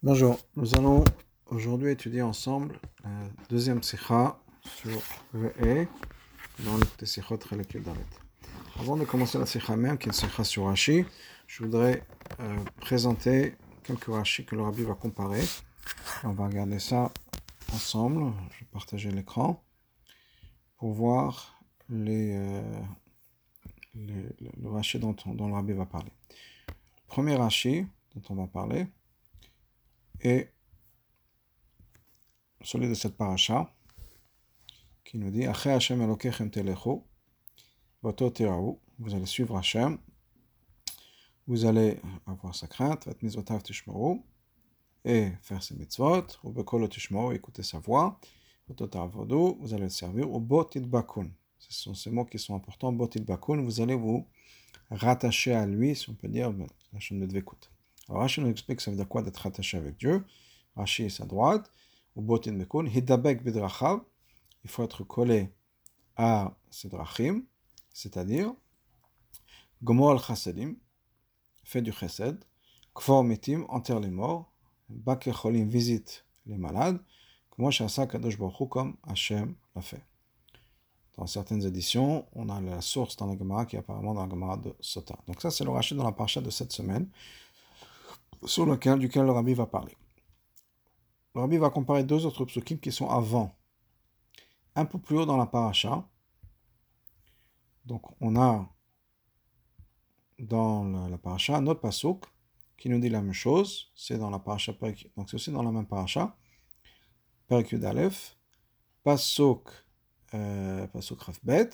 Bonjour, nous allons aujourd'hui étudier ensemble la deuxième sikha sur Re'eh dans le Sikhot Chelek Dalet. Avant de commencer la sikha même, qui est une sikha sur Rashi, je voudrais présenter quelques Rashi que le Rabbi va comparer. On va regarder ça ensemble. Je vais partager l'écran pour voir le Rashi dont le Rabbi va parler. Le premier Rashi dont on va parler est celui de cette paracha qui nous dit Aché Hashem Elokechem Telechu, Vato Tiraou, vous allez suivre Hashem, vous allez avoir sa crainte, Vat Mizvotav Tishmaru, et faire ses mitzvot, ou Bekolo Tishmaru, écouter sa voix, Vato Taravodu, vous allez le servir, ou Botit Bakun. Ce sont ces mots qui sont importants, Botit Bakun, vous allez vous rattacher à lui, si on peut dire, Hashem de Dvekut. Alors Rashi nous explique ça veut dire quoi d'être rattaché avec Dieu. Rashi est sa droite, ou Botit Bakun, Hidabek Bidrachav, il faut être collé à ces drachim, c'est-à-dire Gomor al-Chasadim, fait du chesed, Kfor mitim, enterre les morts, Baker cholim, visite les malades, Kmo shasa kadosh baruch hu, comme Hashem l'a fait. Dans certaines éditions, on a la source dans la Gemara qui est apparemment dans la Gemara de Sota. Donc ça, c'est le rachat dans la parasha de cette semaine, duquel le Rabbi va parler. Le Rabbi va comparer deux autres psukim qui sont avant, un peu plus haut dans la parasha. Donc on a dans la paracha un autre pasuk qui nous dit la même chose. C'est dans la paracha Perek, donc c'est aussi dans la même paracha Perek Yud Aleph, pasuk Raf Bet.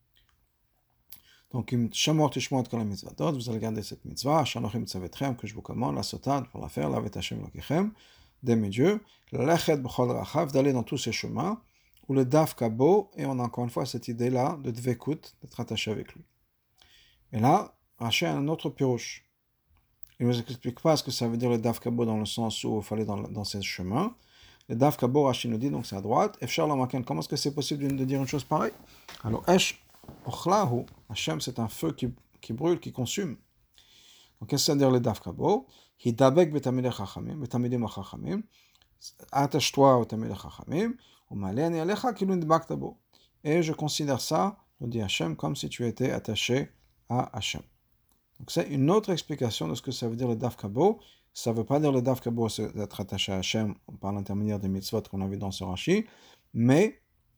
Donc Shamor Tishmot Kol HaMitzvatot, vous allez garder cette mitzvah, Shanochim Tzavetchem, que je vous commande, la sotan pour la faire, la Vet Hashem Lokechem, d'aimer Dieu, Lechet B'chol Rachav, d'aller dans tous ces chemins, ou le Daf Kabo, et on a encore une fois cette idée-là de Dvekut, d'être attaché avec lui. Et là, Rashi a un autre pirouche. Il ne nous explique pas ce que ça veut dire le Daf Kabo dans le sens où il fallait dans ces chemins. Le Daf Kabo, Rashi nous dit, donc c'est à droite. Efshar Lamaken, comment est-ce que c'est possible de dire une chose pareille? Alors, Esh Ochlahu, Hashem, c'est un feu qui brûle, qui consume. Donc, qu'est-ce que ça veut dire le Daf Kabo? Hidabek betamidei chachamim, betamidim chachamim, attache-toi au tamidei chachamim, umaleni alecha kilun dibakta bo. Et je considère ça, nous dit Hashem, comme si tu étais attaché à Hashem. Donc c'est une autre explication de ce que ça veut dire le Daf Kabo. Ça ne veut pas dire le Daf Kabo, c'est d'être attaché à Hashem par l'intermédiaire des mitzvot qu'on a vu dans ce Rashi, mais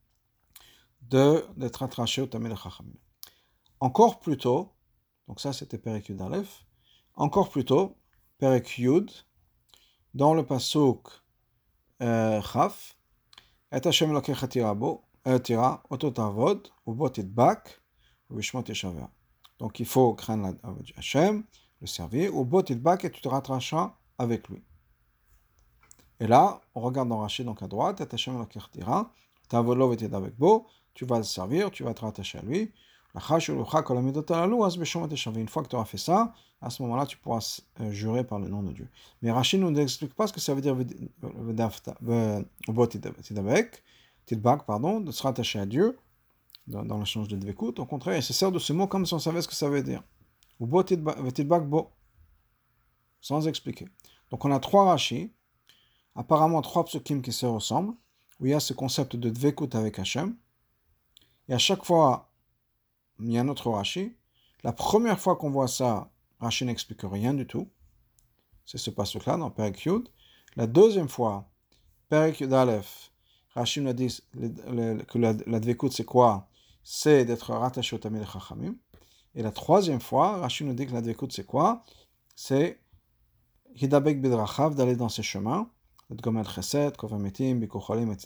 d'être attaché au Tamid Chachamim. Encore plus tôt, donc ça c'était Perek Yud Aleph, encore plus tôt, Perek Yud, dans le pasuk Chaf, Et Hashem Elokecha tira, oto tavod, ubo titbak, uvishmot yeshaveh. Donc il faut craindre Hashem, le servir, ou botitbak, et tu te rattacheras avec lui. Et là, on regarde dans Rashi, donc à droite, et Hashem l'akirtira, tavolov et avec beau, tu vas le servir, tu vas te rattacher à lui. Une fois que tu auras fait ça, à ce moment-là, tu pourras jurer par le nom de Dieu. Mais Rashi ne nous explique pas ce que ça veut dire de se rattacher à Dieu dans l'échange de Dvekut. Au contraire, il se sert de ce mot comme si on savait ce que ça veut dire. Ou bo titbak bo, sans expliquer. Donc on a trois Rashi, apparemment trois psukim qui se ressemblent, où il y a ce concept de Dvekut avec Hashem. Et à chaque fois, il y a un autre Rashi. La première fois qu'on voit ça, Rashi n'explique rien du tout. C'est ce pasuk-là dans Perek Yud. La deuxième fois, Perek Yud Aleph, Rashi nous dit que la Dvekut c'est quoi? C'est d'être rattaché au Tamid Chachamim. Et la troisième fois, Rashi nous dit que la Dvekut c'est quoi? C'est Hidabek Bidrachav, d'aller dans ses chemins, Gomel Chesed, Kovametim, Bikucholim, etc.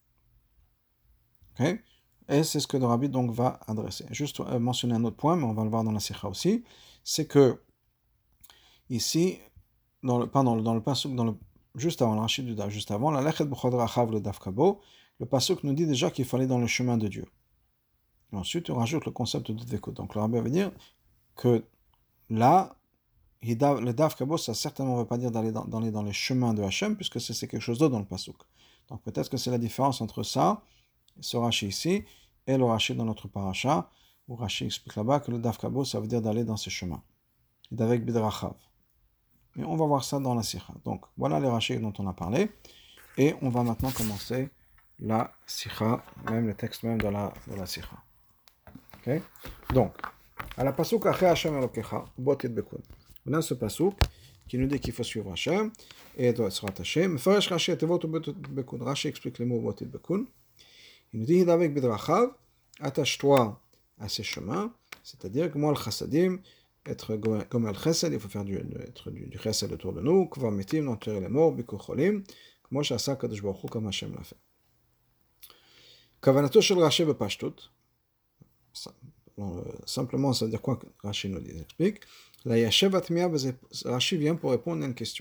Okay? Et c'est ce que le Rabbi donc va adresser. Juste mentionner un autre point, mais on va le voir dans la Sikha aussi, c'est que ici, dans le pasuk, juste avant le Rashi du Daf, juste avant, la Lechet B'chod Rachav, le Daf Kabo, le pasuk nous dit déjà qu'il fallait dans le chemin de Dieu. Et ensuite, on rajoute le concept de Dvekut. Donc le Rabbi va dire que là, le Daf Kabo, ça certainement ne veut pas dire d'aller dans les chemins de Hashem, puisque c'est quelque chose d'autre dans le pasuk. Donc peut-être que c'est la différence entre ça, ce Rashi ici, et le Rashi dans notre paracha, où Rashi explique là-bas que le Daf Kabo, ça veut dire d'aller dans ces chemins. Et d'avec Bidrachav. Mais on va voir ça dans la sikha. Donc, voilà les rachis dont on a parlé. Et on va maintenant commencer la sikha, même le texte même de la sikha. Ok? Donc, à la pasuk Ache Hashem Elokecha, Bot Yidbekun. On a ce pasuk qui nous dit qu'il faut suivre Hashem et doit se rattacher. Mefaresh Rashi Tevot Bot Yidbekun. Rashi explique les mots Bot Yidbekun. Il nous dit Hidavek Bidrachav, attache-toi à ses chemins, c'est-à-dire que moi le chassadim, être comme le chassad, il faut faire du chassad autour de nous, kvar mitim, d'enterrer les morts, bikucholim, comme Shasa Kadosh Baruch Hu, comme Hashem l'a fait. Kavanato shel Rashi bepashtut. Simplement, ça veut dire quoi que Rashi nous dit, il explique. La yashev atmiya, Rashi vient pour répondre à une question.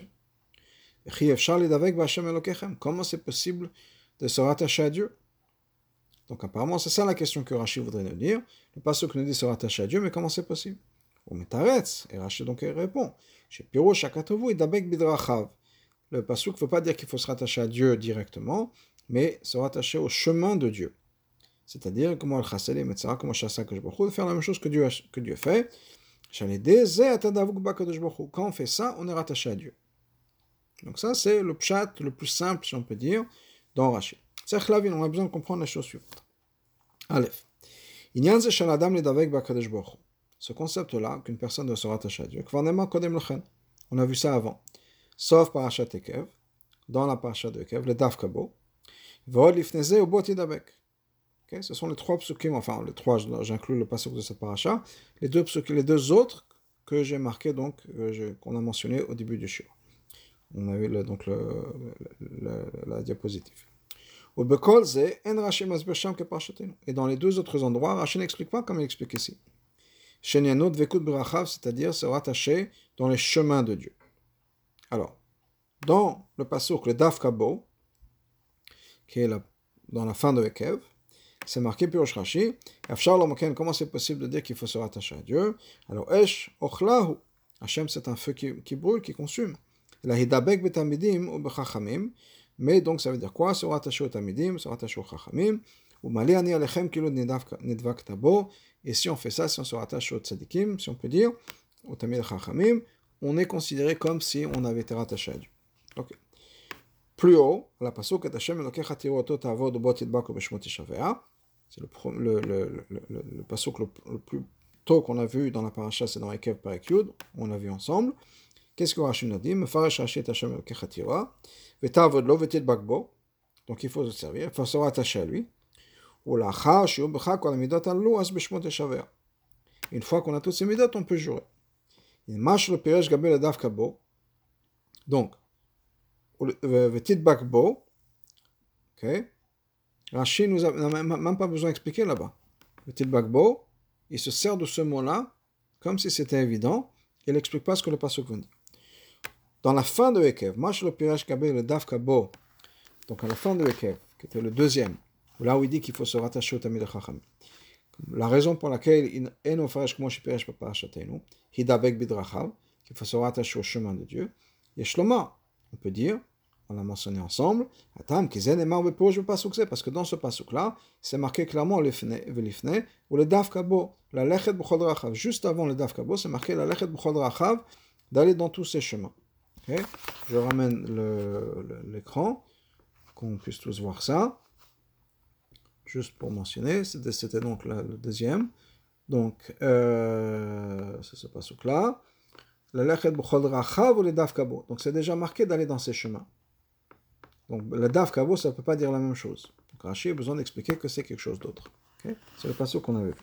Comment c'est possible de se rattacher à Dieu? Donc apparemment, c'est ça la question que Rashi voudrait nous dire. Le pasuk nous dit se rattacher à Dieu, mais comment c'est possible? Et Rashi donc répond. Le pasuk ne veut pas dire qu'il faut se rattacher à Dieu directement, mais se rattacher au chemin de Dieu. C'est-à-dire, comment de faire la même chose que Dieu fait. Quand on fait ça, on est rattaché à Dieu. Donc ça, c'est le pshat le plus simple, si on peut dire, dans Rashi. C'est on a besoin de comprendre la chose suivante. Aleph. Ce concept-là, qu'une personne doit se rattacher à Dieu, on a vu ça avant. Sauf Parashat Ekev, dans la Parashat de Ekev, le Daf Kabo, Vod Lifneze ou Bot Yidabek. Ce sont les trois psukim, enfin les trois, j'inclus le passage de cette parasha, les deux autres que j'ai marqués, donc, qu'on a mentionné au début du shiur. On a vu la diapositive. Et dans les deux autres endroits, Rashi n'explique pas comme il explique ici. C'est-à-dire se rattacher dans les chemins de Dieu. Alors, dans le pasuk, le Daf Kabo, qui est dans la fin de Ekev, c'est marqué Pirosh Rashi, comment c'est possible de dire qu'il faut se rattacher à Dieu? Alors, Esh Ochlahu, Hashem c'est un feu qui brûle, qui consume. La Hidabek betamidim ou bechachamim, mais donc ça veut dire quoi? Se rattacher au tamidim, se rattacher au chachamim, ou mali ani alechem kilo nidvak tabo, et si on fait ça, si on se rattache au tzadikim, si on peut dire, au tamid chachamim, on est considéré comme si on avait été rattaché à Dieu. Ok. Plus haut, la pasuk et Hashem elokecha tiroto ta'avod bot yidbaku b'shmot yishavea. C'est le pasuk le plus tôt qu'on a vu dans la paracha, c'est dans Ekev Perek Yud, on l'a vu ensemble. Qu'est-ce que Rashi nous dit? Mefaresh Rashi et Hashem elokecha tira, v'ta'avod lo v'tidbak bo. Donc il faut se servir, il faut se rattacher à lui. Ou l'achar shiu b'cha kol midot allu as b'shmot yishavea. Une fois qu'on a toutes ces midot, on peut jurer. Il marche le piresh gabel le daf kabo. Donc, v'tidbak bo, ok? Rashi n'a même pas besoin d'expliquer là-bas. Le Tilbakbo, il se sert de ce mot-là comme si c'était évident. Il n'explique pas ce que le pasuk veut dire. Dans la fin de Ekev, Mash le Piresh Kabel le Daf Kabo, donc à la fin de Ekev, qui était le deuxième, là où il dit qu'il faut se rattacher au Tamid Chacham. La raison pour laquelle il est offert comme je Piresh Papa Chatenu, Hidabek Bidrachav, qu'il faut se rattacher au chemin de Dieu. Yeshloma, on peut dire. On l'a mentionné ensemble, parce que dans ce pasuk-là, c'est marqué clairement le lifne ou le daf kabo, la lechet b'chol rachav. Juste avant le daf kabo, c'est marqué la lechet b'chol rachav, d'aller dans tous ces chemins. Okay? Je ramène l'écran, qu'on puisse tous voir ça. Juste pour mentionner, c'était donc le deuxième. Donc, c'est ce pasuk-là. La lechet b'chol rachav ou le daf kabo. Donc, c'est déjà marqué d'aller dans ces chemins. Donc, le Daf Kabo, ça ne peut pas dire la même chose. Donc, Rashi a besoin d'expliquer que c'est quelque chose d'autre. Okay? C'est le passage qu'on avait vu.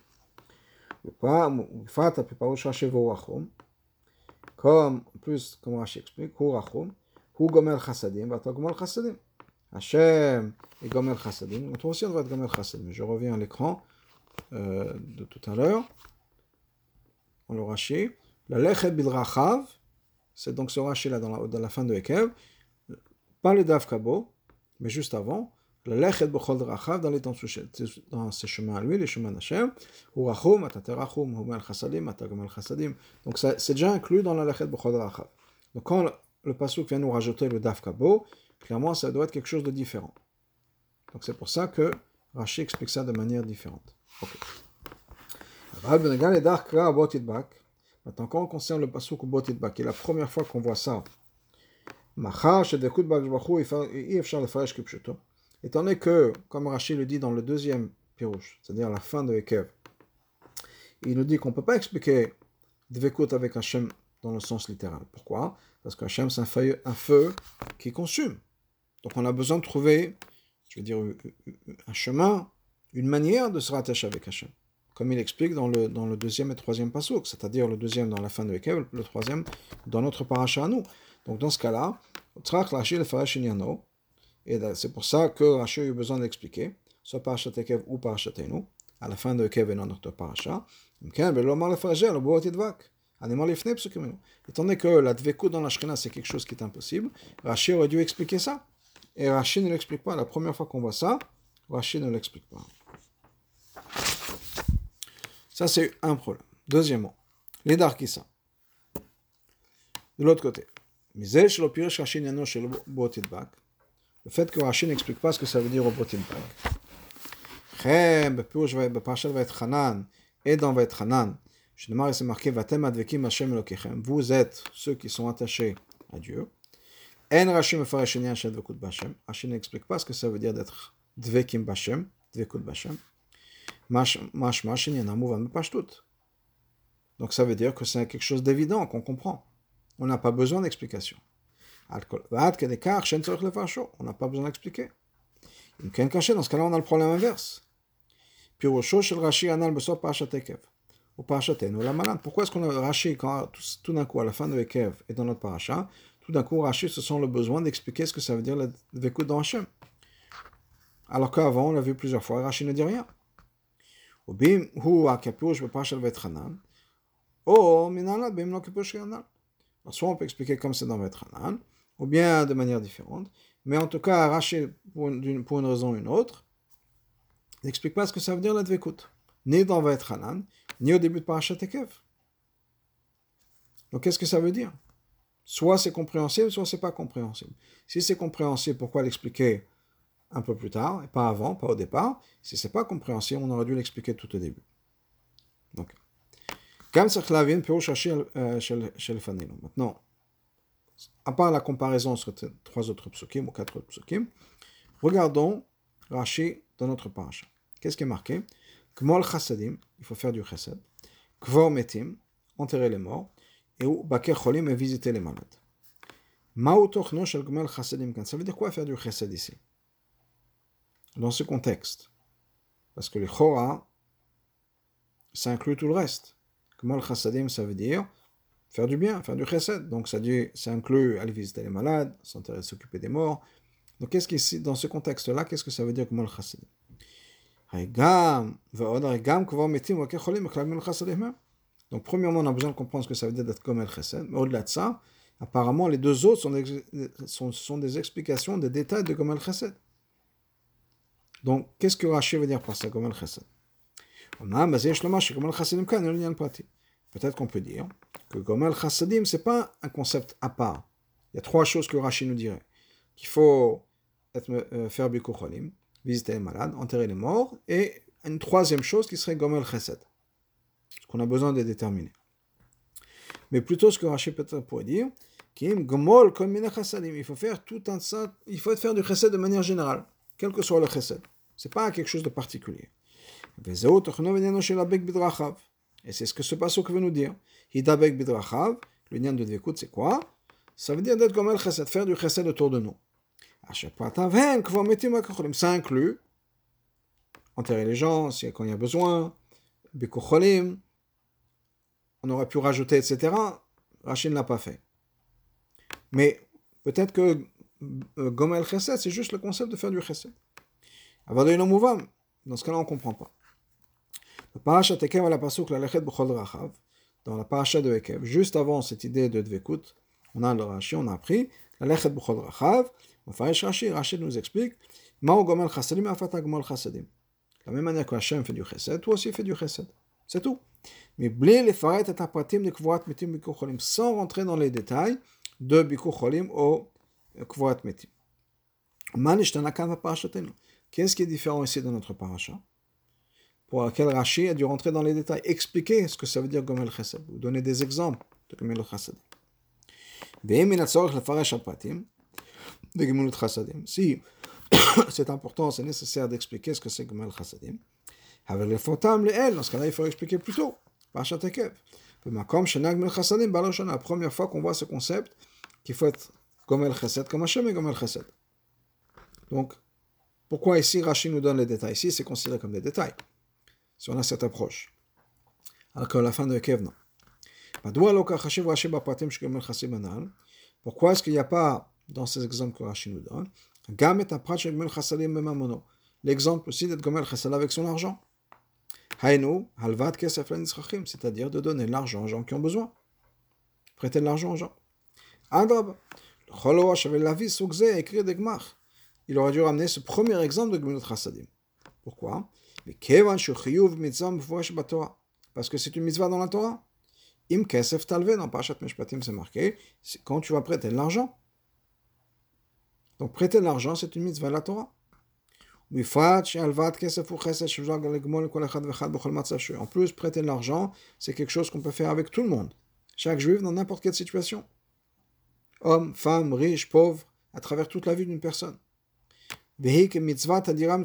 Comme, en plus, comme Rashi explique, Hu Rachum, Hu Gomel Chassadim, Vata Gomel Chassadim. Hashem et Gomel Chassadim. Donc, toi aussi, on va être Gomel Chassadim. Je reviens à l'écran de tout à l'heure. On le Rashi. La Lechet Bidrachav, c'est donc ce Rashi là dans la fin de Ekev. Pas le Daf Kabo, mais juste avant, le Lechet B'chol Rachav, d'aller dans ces chemins à lui, les chemins d'Hachem, ou Rachum, Ataterachum, Humel Chassadim, Atagomel Chassadim. Donc c'est déjà inclus dans le Lechet B'chol Rachav. Donc quand le pasuk vient nous rajouter le Daf Kabo, clairement ça doit être quelque chose de différent. Donc c'est pour ça que Rashi explique ça de manière différente. Ok. Maintenant, quand on concerne le pasuk Botidba, qui est la première fois qu'on voit ça, étant donné que, comme Rashi le dit dans le deuxième pirouche, c'est-à-dire la fin de Ekev, il nous dit qu'on ne peut pas expliquer Dvekut avec Hachem dans le sens littéral. Pourquoi? Parce que Hachem, c'est un feu qui consume. Donc on a besoin de trouver, je veux dire, un chemin, une manière de se rattacher avec Hachem. Comme il explique dans le deuxième et troisième pasuk, c'est-à-dire le deuxième dans la fin de Ekev, le troisième dans notre paracha à nous. Donc dans ce cas-là, et c'est pour ça que Rashi a eu besoin d'expliquer, soit parachat Ekev ou parachat Enu, à la fin de Ekev et dans notre paracha. Étant donné que la dvekut dans la Shekhinah c'est quelque chose qui est impossible, Rashi aurait dû expliquer ça. Et Rashi ne l'explique pas. La première fois qu'on voit ça, Rashi ne l'explique pas. Ça, c'est un problème. Deuxièmement, les darkissa. De l'autre côté, le fait que Rashi n'explique pas ce que ça veut dire au Botidbak. Et dans Vaetchanan, c'est marqué vous êtes ceux qui sont attachés à Dieu. Rashi n'explique pas ce que ça veut dire d'être dvekim bashem, dvekut bashem. Donc ça veut dire que c'est quelque chose d'évident, qu'on comprend. On n'a pas besoin d'explication. On n'a pas besoin d'expliquer. Dans ce cas-là, on a le problème inverse. Pourquoi est-ce qu'on a Rashi, quand tout d'un coup, à la fin de Ekev et dans notre paracha, tout d'un coup, Rashi se sent le besoin d'expliquer ce que ça veut dire le Dvekut dans Hachem. Alors qu'avant, on l'a vu plusieurs fois, Rashi ne dit rien. Soit on peut expliquer comme c'est dans Vaetchanan, ou bien de manière différente, mais en tout cas, Rashi, pour une raison ou une autre, n'explique pas ce que ça veut dire la Dvekut, ni dans Vaetchanan, ni au début de Parashat Ekev. Donc qu'est-ce que ça veut dire? Soit c'est compréhensible, soit c'est pas compréhensible. Si c'est compréhensible, pourquoi l'expliquer un peu plus tard, et pas avant, pas au départ? Si c'est pas compréhensible, on aurait dû l'expliquer tout au début. Donc, maintenant, à part la comparaison sur trois autres psukim ou quatre autres psukim, regardons Rashi dans notre paracha. Qu'est-ce qui est marqué? Kmol chassadim, il faut faire du chesed. Kvor metim, enterrer les morts. Et ou baker cholim, et visiter les malades. Ma'u tochno shel kmol chassadim kan. Ça veut dire quoi faire du chesed ici? Dans ce contexte. Parce que les chora, ça inclut tout le reste. Kmol chassadim, ça veut dire faire du bien, faire du chesed. Donc ça inclut aller visiter les malades, s'occuper des morts. Donc dans ce contexte-là, qu'est-ce que ça veut dire kmol chassadim? Donc premièrement, on a besoin de comprendre ce que ça veut dire d'être comme el chesed. Mais au-delà de ça, apparemment, les deux autres sont des explications, des détails de Gomel Chesed. Donc, qu'est-ce que Rashi veut dire par ça, Gomel Chesed? Peut-être qu'on peut dire que Gomel Chesedim, ce n'est pas un concept à part. Il y a trois choses que Rashi nous dirait. Qu'il faut faire Bikur Cholim, visiter les malades, enterrer les morts, et une troisième chose qui serait Gomel Chesed. Ce qu'on a besoin de déterminer. Mais plutôt ce que Rashi peut-être pourrait dire, il faut faire tout un ça, il faut faire du chesed de manière générale, quel que soit le chesed. Ce n'est pas quelque chose de particulier. Et c'est ce que ce passage veut nous dire. Hidabek bidrachav, le lien de Dvekut, c'est quoi? Ça veut dire d'être comme le chesed, faire du chesed autour de nous. Ça inclut enterrer les gens quand il y a besoin, Bikur Cholim, on aurait pu rajouter, etc. Rashi ne l'a pas fait. Mais peut-être que Gomel Chesed, c'est juste le concept de faire du Chesed. Dans ce cas-là, on ne comprend pas. Dans la paracha de Ekev, juste avant cette idée de Dvekut, on a le Rashi, on a appris Lalechet B'chol Rachav. Rashi nous explique Ma'u Gomel Chasadim Afata Gomel Chasadim. De la même manière que Hachem fait du Chesed, toi aussi fais du Chesed. C'est tout. Mais sans rentrer dans les détails de Bikur Cholim au Kvorat Metim. Qu'est-ce qui est différent ici dans notre paracha? pour laquelle Rashi a dû rentrer dans les détails, expliquer ce que ça veut dire Gomel Chesed, ou donner des exemples de Gomel Chesed. Si c'est important, c'est nécessaire d'expliquer ce que c'est Gomel Chasadim, dans ce cas-là, il faut expliquer plus tôt. La première fois qu'on voit ce concept, qu'il faut être Gomel Chesed, comme Hashem est Gomel Chesed. Donc, pourquoi ici Rashi nous donne les détails? Ici, c'est considéré comme des détails, si on a cette approche. Alors qu'à la fin de Kev, non. Pourquoi est-ce qu'il n'y a pas, dans ces exemples que Rashi nous donne, l'exemple aussi d'être Gomel Chesed avec son argent? C'est-à-dire de donner de l'argent aux gens qui ont besoin. Prêter de l'argent aux gens. Il aurait dû ramener ce premier exemple de Gemilut Chasadim. Pourquoi? Parce que c'est une mitzvah dans la Torah. Im kesef talve, dans Parashat Mishpatim, c'est marqué, c'est quand tu vas prêter de l'argent. Donc prêter de l'argent, c'est une mitzvah de la Torah. En plus, prêter de l'argent, c'est quelque chose qu'on peut faire avec tout le monde. Chaque juif, dans n'importe quelle situation. Homme, femme, riche, pauvre, à travers toute la vie d'une personne. C'est une mitzvah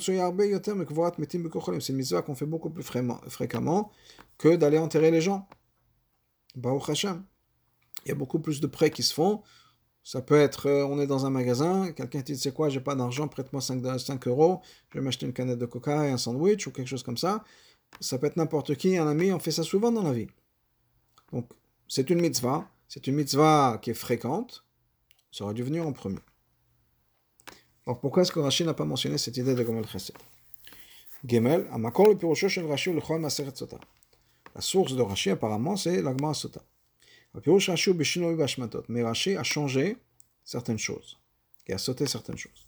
qu'on fait beaucoup plus fréquemment que d'aller enterrer les gens. Baruch Hashem. Il y a beaucoup plus de prêts qui se font. Ça peut être, on est dans un magasin, quelqu'un dit, tu sais quoi, j'ai pas d'argent, prête-moi 5 euros, je vais m'acheter une canette de coca et un sandwich ou quelque chose comme ça. Ça peut être n'importe qui, un ami, on fait ça souvent dans la vie. Donc, c'est une mitzvah qui est fréquente, ça aurait dû venir en premier. Alors, pourquoi est-ce que Rashi n'a pas mentionné cette idée de Gomel Chesed? Gemel, Amakor le Pirosho shel Rashi l'Echol Maseret Sota. La source de Rashi, apparemment, c'est la Gemara Sota. Mais Rashi a changé certaines choses, et a sauté certaines choses.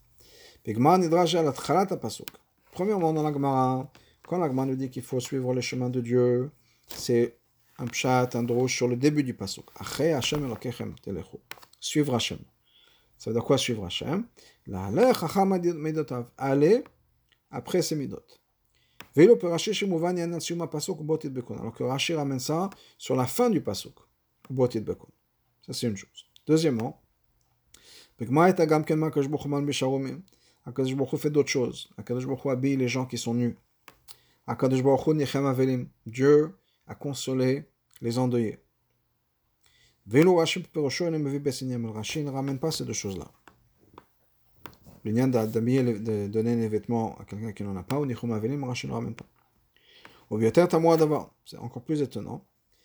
Premièrement, dans la Gemara, quand la Gemara nous dit qu'il faut suivre le chemin de Dieu, c'est un pshat, un drosh sur le début du pasuk. Suivre Hashem. Ça veut dire quoi suivre Hashem? Aller après ses midot. Alors que Rashi ramène ça sur la fin du pasuk. Ça, c'est une chose. Deuxièmement, Akadosh Baruch Hu fait d'autres choses. Akadosh Baruch Hu habille les gens qui sont nus. Akadosh Baruch Hu nichem avelim. Dieu a consolé les endeuillés. Rashi ne ramène pas ces deux choses-là. L'union d'habiller, de donner les vêtements à quelqu'un qui n'en a pas, ou nichem avelim, Rashi ne ramène pas. C'est encore plus étonnant.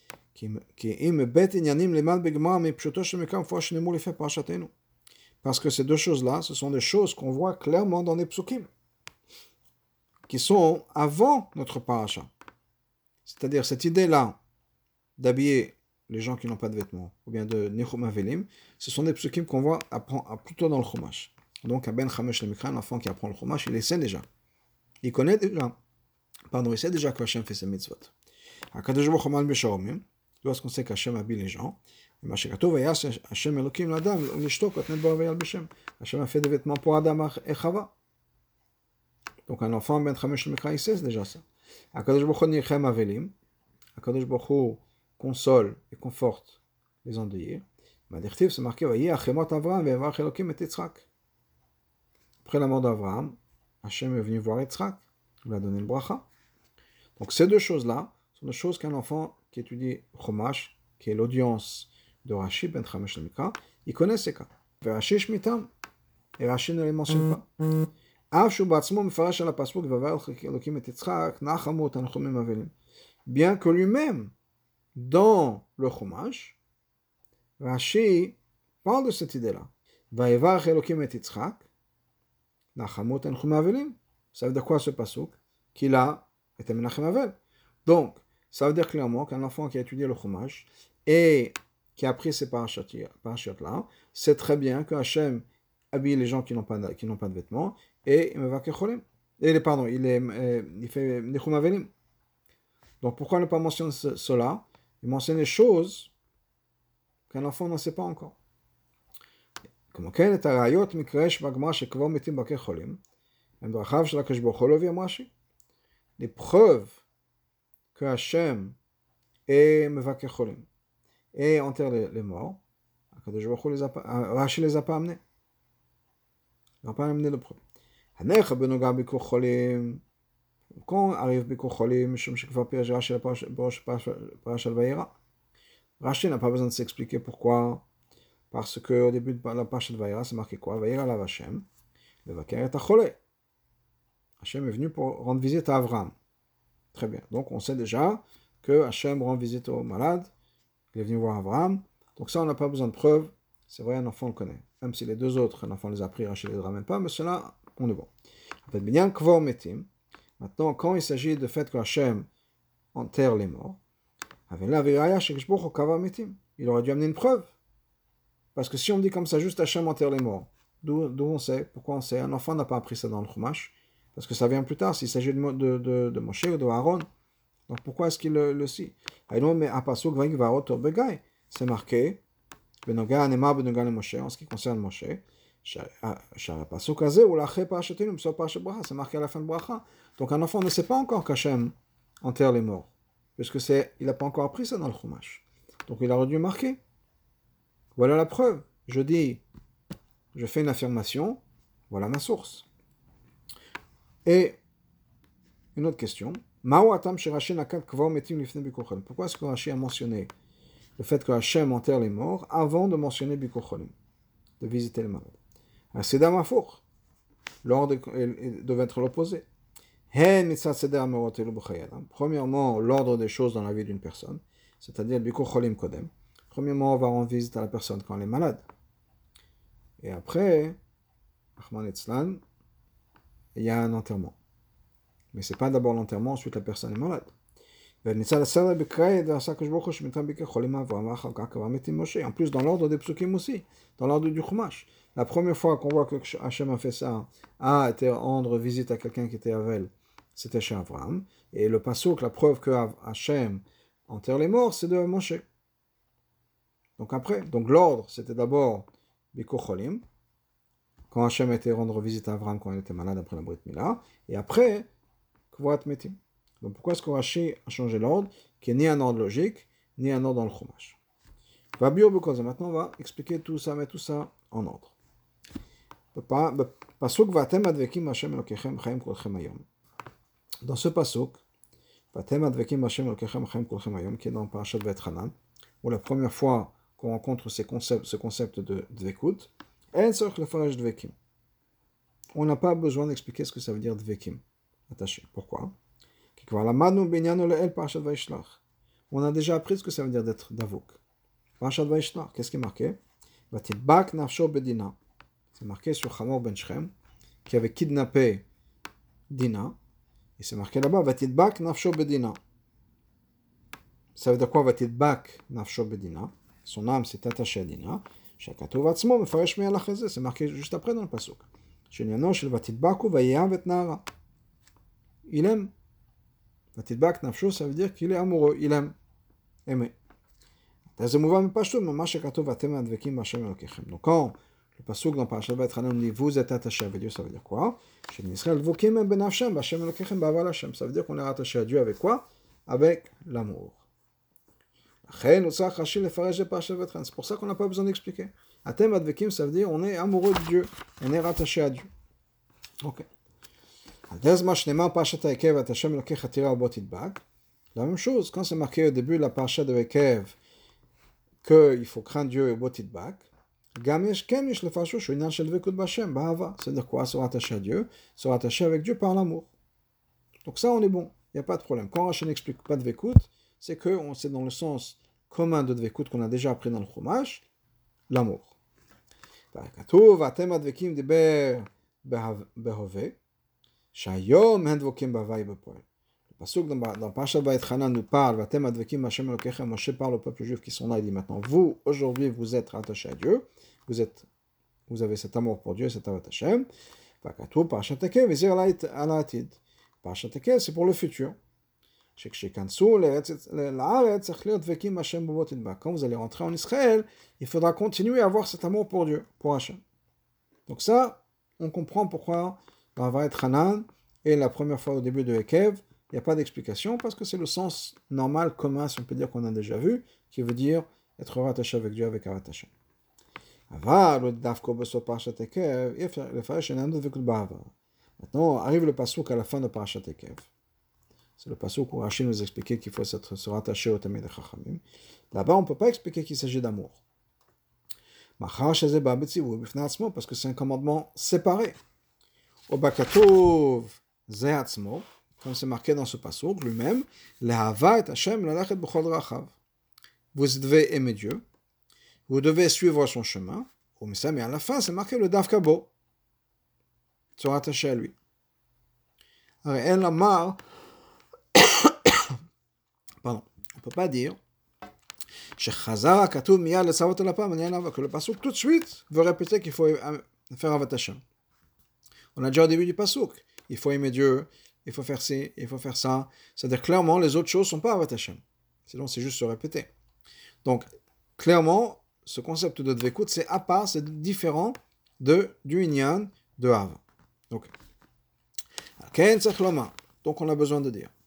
Parce que ces deux choses-là, ce sont des choses qu'on voit clairement dans les psukim, qui sont avant notre parasha. C'est-à-dire cette idée-là d'habiller les gens qui n'ont pas de vêtements, ou bien de nichum avelim, ce sont des psukim qu'on voit plutôt dans le chumash. Donc, à Ben Chamesh le Mikra, l'enfant qui apprend le chumash, il les sait déjà. Il sait déjà que Hashem fait ses mitzvot. Akadosh Baruch Hu mal b'sharomim. Lorsqu'on sait qu'Hachem habille les gens, Hashem a fait des vêtements pour Adam et Chava. Donc un enfant, Ben Chamesh Mikra, il sait déjà ça. Akadosh Baruch Hu nichem avelim. Akadosh Baruch Hu console et conforte les endeuillés. Madirtiv, c'est marqué, Achemot Avraham ve'yavach Elokim et Yitzhak. Après la mort d'Avraham, Hashem est venu voir Yitzhak. Il lui a donné le bracha. Donc ces deux choses-là sont des choses qu'un enfant qui étudie Chumash, qui est l'audience de Rashi, Ben Chamesh le Mikra, il connaît ces cas. Et Rashi Shmitam, et Rashi ne les mentionne pas. Bien que lui-même, dans le Chumash, Rashi parle de cette idée-là. Vayevarech Elokim et Yitzhak, nachamot enchem avelim. Ça veut dire quoi ce pasuk? Qu'il a été menachem avel. Donc, ça veut dire clairement qu'un enfant qui a étudié le Chumash et qui a appris ces parachutes-là, sait très bien que Hashem habille les gens qui n'ont pas de vêtements et il fait nichum avelim. Donc pourquoi ne pas mentionner cela? Il mentionne des choses qu'un enfant ne sait pas encore. Comme כן, את הראיות מקרה שבגמרא שקבור מתים בקי חולים, הם דרכיו של הקדוש ברוך הוא לא הביא אמר רש"י. Les preuves que Hachem est Mevaker Cholim, et enterre les morts, Rashi les a pas amenés. Il n'a pas amené le preuve. Quand arrive Bikur Cholim, Rashi n'a pas besoin de s'expliquer pourquoi. Parce qu'au début de la Parashat Vayera, c'est marqué quoi? Vayera la Hashem, le Vaker est Acholé. Hachem est venu pour rendre visite à Avram. Très bien. Donc on sait déjà que Hachem rend visite aux malades. Il est venu voir Avram. Donc ça, on n'a pas besoin de preuves. C'est vrai, un enfant le connaît. Même si les deux autres, un enfant les a pris, Rachel ne les ramène pas, mais cela, on est bon. Maintenant, quand il s'agit du fait que Hachem enterre les morts, il aurait dû amener une preuve. Parce que si on dit comme ça, juste Hachem enterre les morts, d'où on sait? Pourquoi on sait? Un enfant n'a pas appris ça dans le Chumash. Parce que ça vient plus tard, s'il s'agit de Moshe ou de Aaron. Donc pourquoi est-ce qu'il le sait? C'est marqué, en ce qui concerne Moshe, c'est marqué à la fin de Bracha. Donc un enfant ne sait pas encore qu'Hachem enterre les morts, puisque il n'a pas encore appris ça dans le Chumash. Donc il aurait dû marquer. Voilà la preuve. Je fais une affirmation, voilà ma source. Et une autre question. Pourquoi est-ce que Rashi a mentionné le fait que Hachem enterre les morts avant de mentionner Bikur Cholim, de visiter les malades? C'est d'Amafour. L'ordre devait être l'opposé. Premièrement, l'ordre des choses dans la vie d'une personne, c'est-à-dire Bikur Cholim Kodem. Premièrement, on va rendre visite à la personne quand elle est malade. Et après, Rahman Etzlan, il y a un enterrement. Mais ce n'est pas d'abord l'enterrement, ensuite la personne est malade. En plus, dans l'ordre des psukim aussi, dans l'ordre du Chumash. La première fois qu'on voit que Hachem a fait ça, a été rendre visite à quelqu'un qui était avec elle, c'était chez Abraham. Et le pasuk, la preuve que Hachem enterre les morts, c'est de Moshe. Donc l'ordre, c'était d'abord Bikur Cholim, quand Hachem était rendre visite à Abraham quand il était malade après la Brit Mila, et après, Kvoat Metim. Donc pourquoi est-ce que Rashi a changé l'ordre, qui n'est ni un ordre logique, ni un ordre dans le Chumash? Maintenant, on va expliquer tout ça, mettre tout ça en ordre. Dans ce pasuk, qui est dans Parashat Va'etchanan, où la première fois qu'on rencontre ce concept de dvekut, on n'a pas besoin d'expliquer ce que ça veut dire dvekim, attaché. Pourquoi? On a déjà appris ce que ça veut dire d'être davouk. Parashat Vayishlach, qu'est-ce qui est marqué? Vatidbak nafsho bedina. C'est marqué sur Hamor ben Shrem, qui avait kidnappé Dina. Et c'est marqué là-bas, Vatidbak nafsho bedina. Ça veut dire quoi, Vatidbak nafsho bedina? Son âme s'est attachée à Dina. Shakatov atzmo mefaresh me'alach hazeh. C'est marqué juste après dans le pasuk. Shenyano shel Vatidbaku vayav et nara. Il aime. Vatidbak nafsho, ça veut dire qu'il est amoureux, il aime. Aimer. Donc quand le pasuk dans Parashat Va'etchanan dit vous êtes attachés avec Dieu, ça veut dire quoi? Ça veut dire qu'on est attaché à Dieu avec quoi? Avec l'amour. C'est pour ça qu'on n'a pas besoin d'expliquer. Atem advekim, ça veut dire on est amoureux de Dieu, on est rattaché à Dieu. Ok. La même chose, quand c'est marqué au début de la Parashat de Ekev qu'il faut craindre Dieu et Botidbak, c'est-à-dire quoi? Se rattacher à Dieu, se rattacher avec Dieu par l'amour. Donc ça, on est bon, il n'y a pas de problème. Quand Rachel n'explique pas de Dvekut, c'est que c'est dans le sens commun de Dvekut qu'on a déjà appris dans le Chumash, l'amour. Le pasuk dans Parashat Va'etchanan nous parle, Vatem advekim Hashem Elokechem, Moshe parle au peuple juif qui sont là, il dit maintenant, vous, aujourd'hui, vous êtes attachés à Dieu, vous avez cet amour pour Dieu, cet amour Hashem. Vakatou Parashat Ekev, Vezir Alatid. Parashat Ekev, c'est pour le futur. Quand vous allez rentrer en Israël, il faudra continuer à avoir cet amour pour Dieu, pour Hashem. Donc ça, on comprend pourquoi dans Va'etchanan, et la première fois au début de Ekev, il n'y a pas d'explication parce que c'est le sens normal, commun, si on peut dire qu'on a déjà vu, qui veut dire être rattaché avec Dieu, avec Avat Hashem. Maintenant, arrive le passouk à la fin de Parashat Ekev. C'est le passouk où Rashi nous expliquait qu'il faut se rattacher au Tamid Chachamim. Là-bas, on ne peut pas expliquer qu'il s'agit d'amour. Parce que c'est un commandement séparé. Au Bakatov Zehatzmo, comme c'est marqué dans ce passouk lui-même, Lehava et Hashem lalachet b'chol rachav. Vous devez aimer Dieu, vous devez suivre son chemin, mais à la fin, c'est marqué le Davkabo, se rattacher à lui. Alors, elle a marre, pardon, on ne peut pas dire que le passouk tout de suite veut répéter qu'il faut faire Avat Hashem. On a déjà au début du passouk, il faut aimer Dieu, il faut faire ci, il faut faire ça. C'est-à-dire clairement, les autres choses ne sont pas Avat Hashem. Sinon, c'est juste se répéter. Donc, clairement, ce concept de Dvekut, c'est à part, c'est différent du Inyan de Av. Donc, on a besoin de dire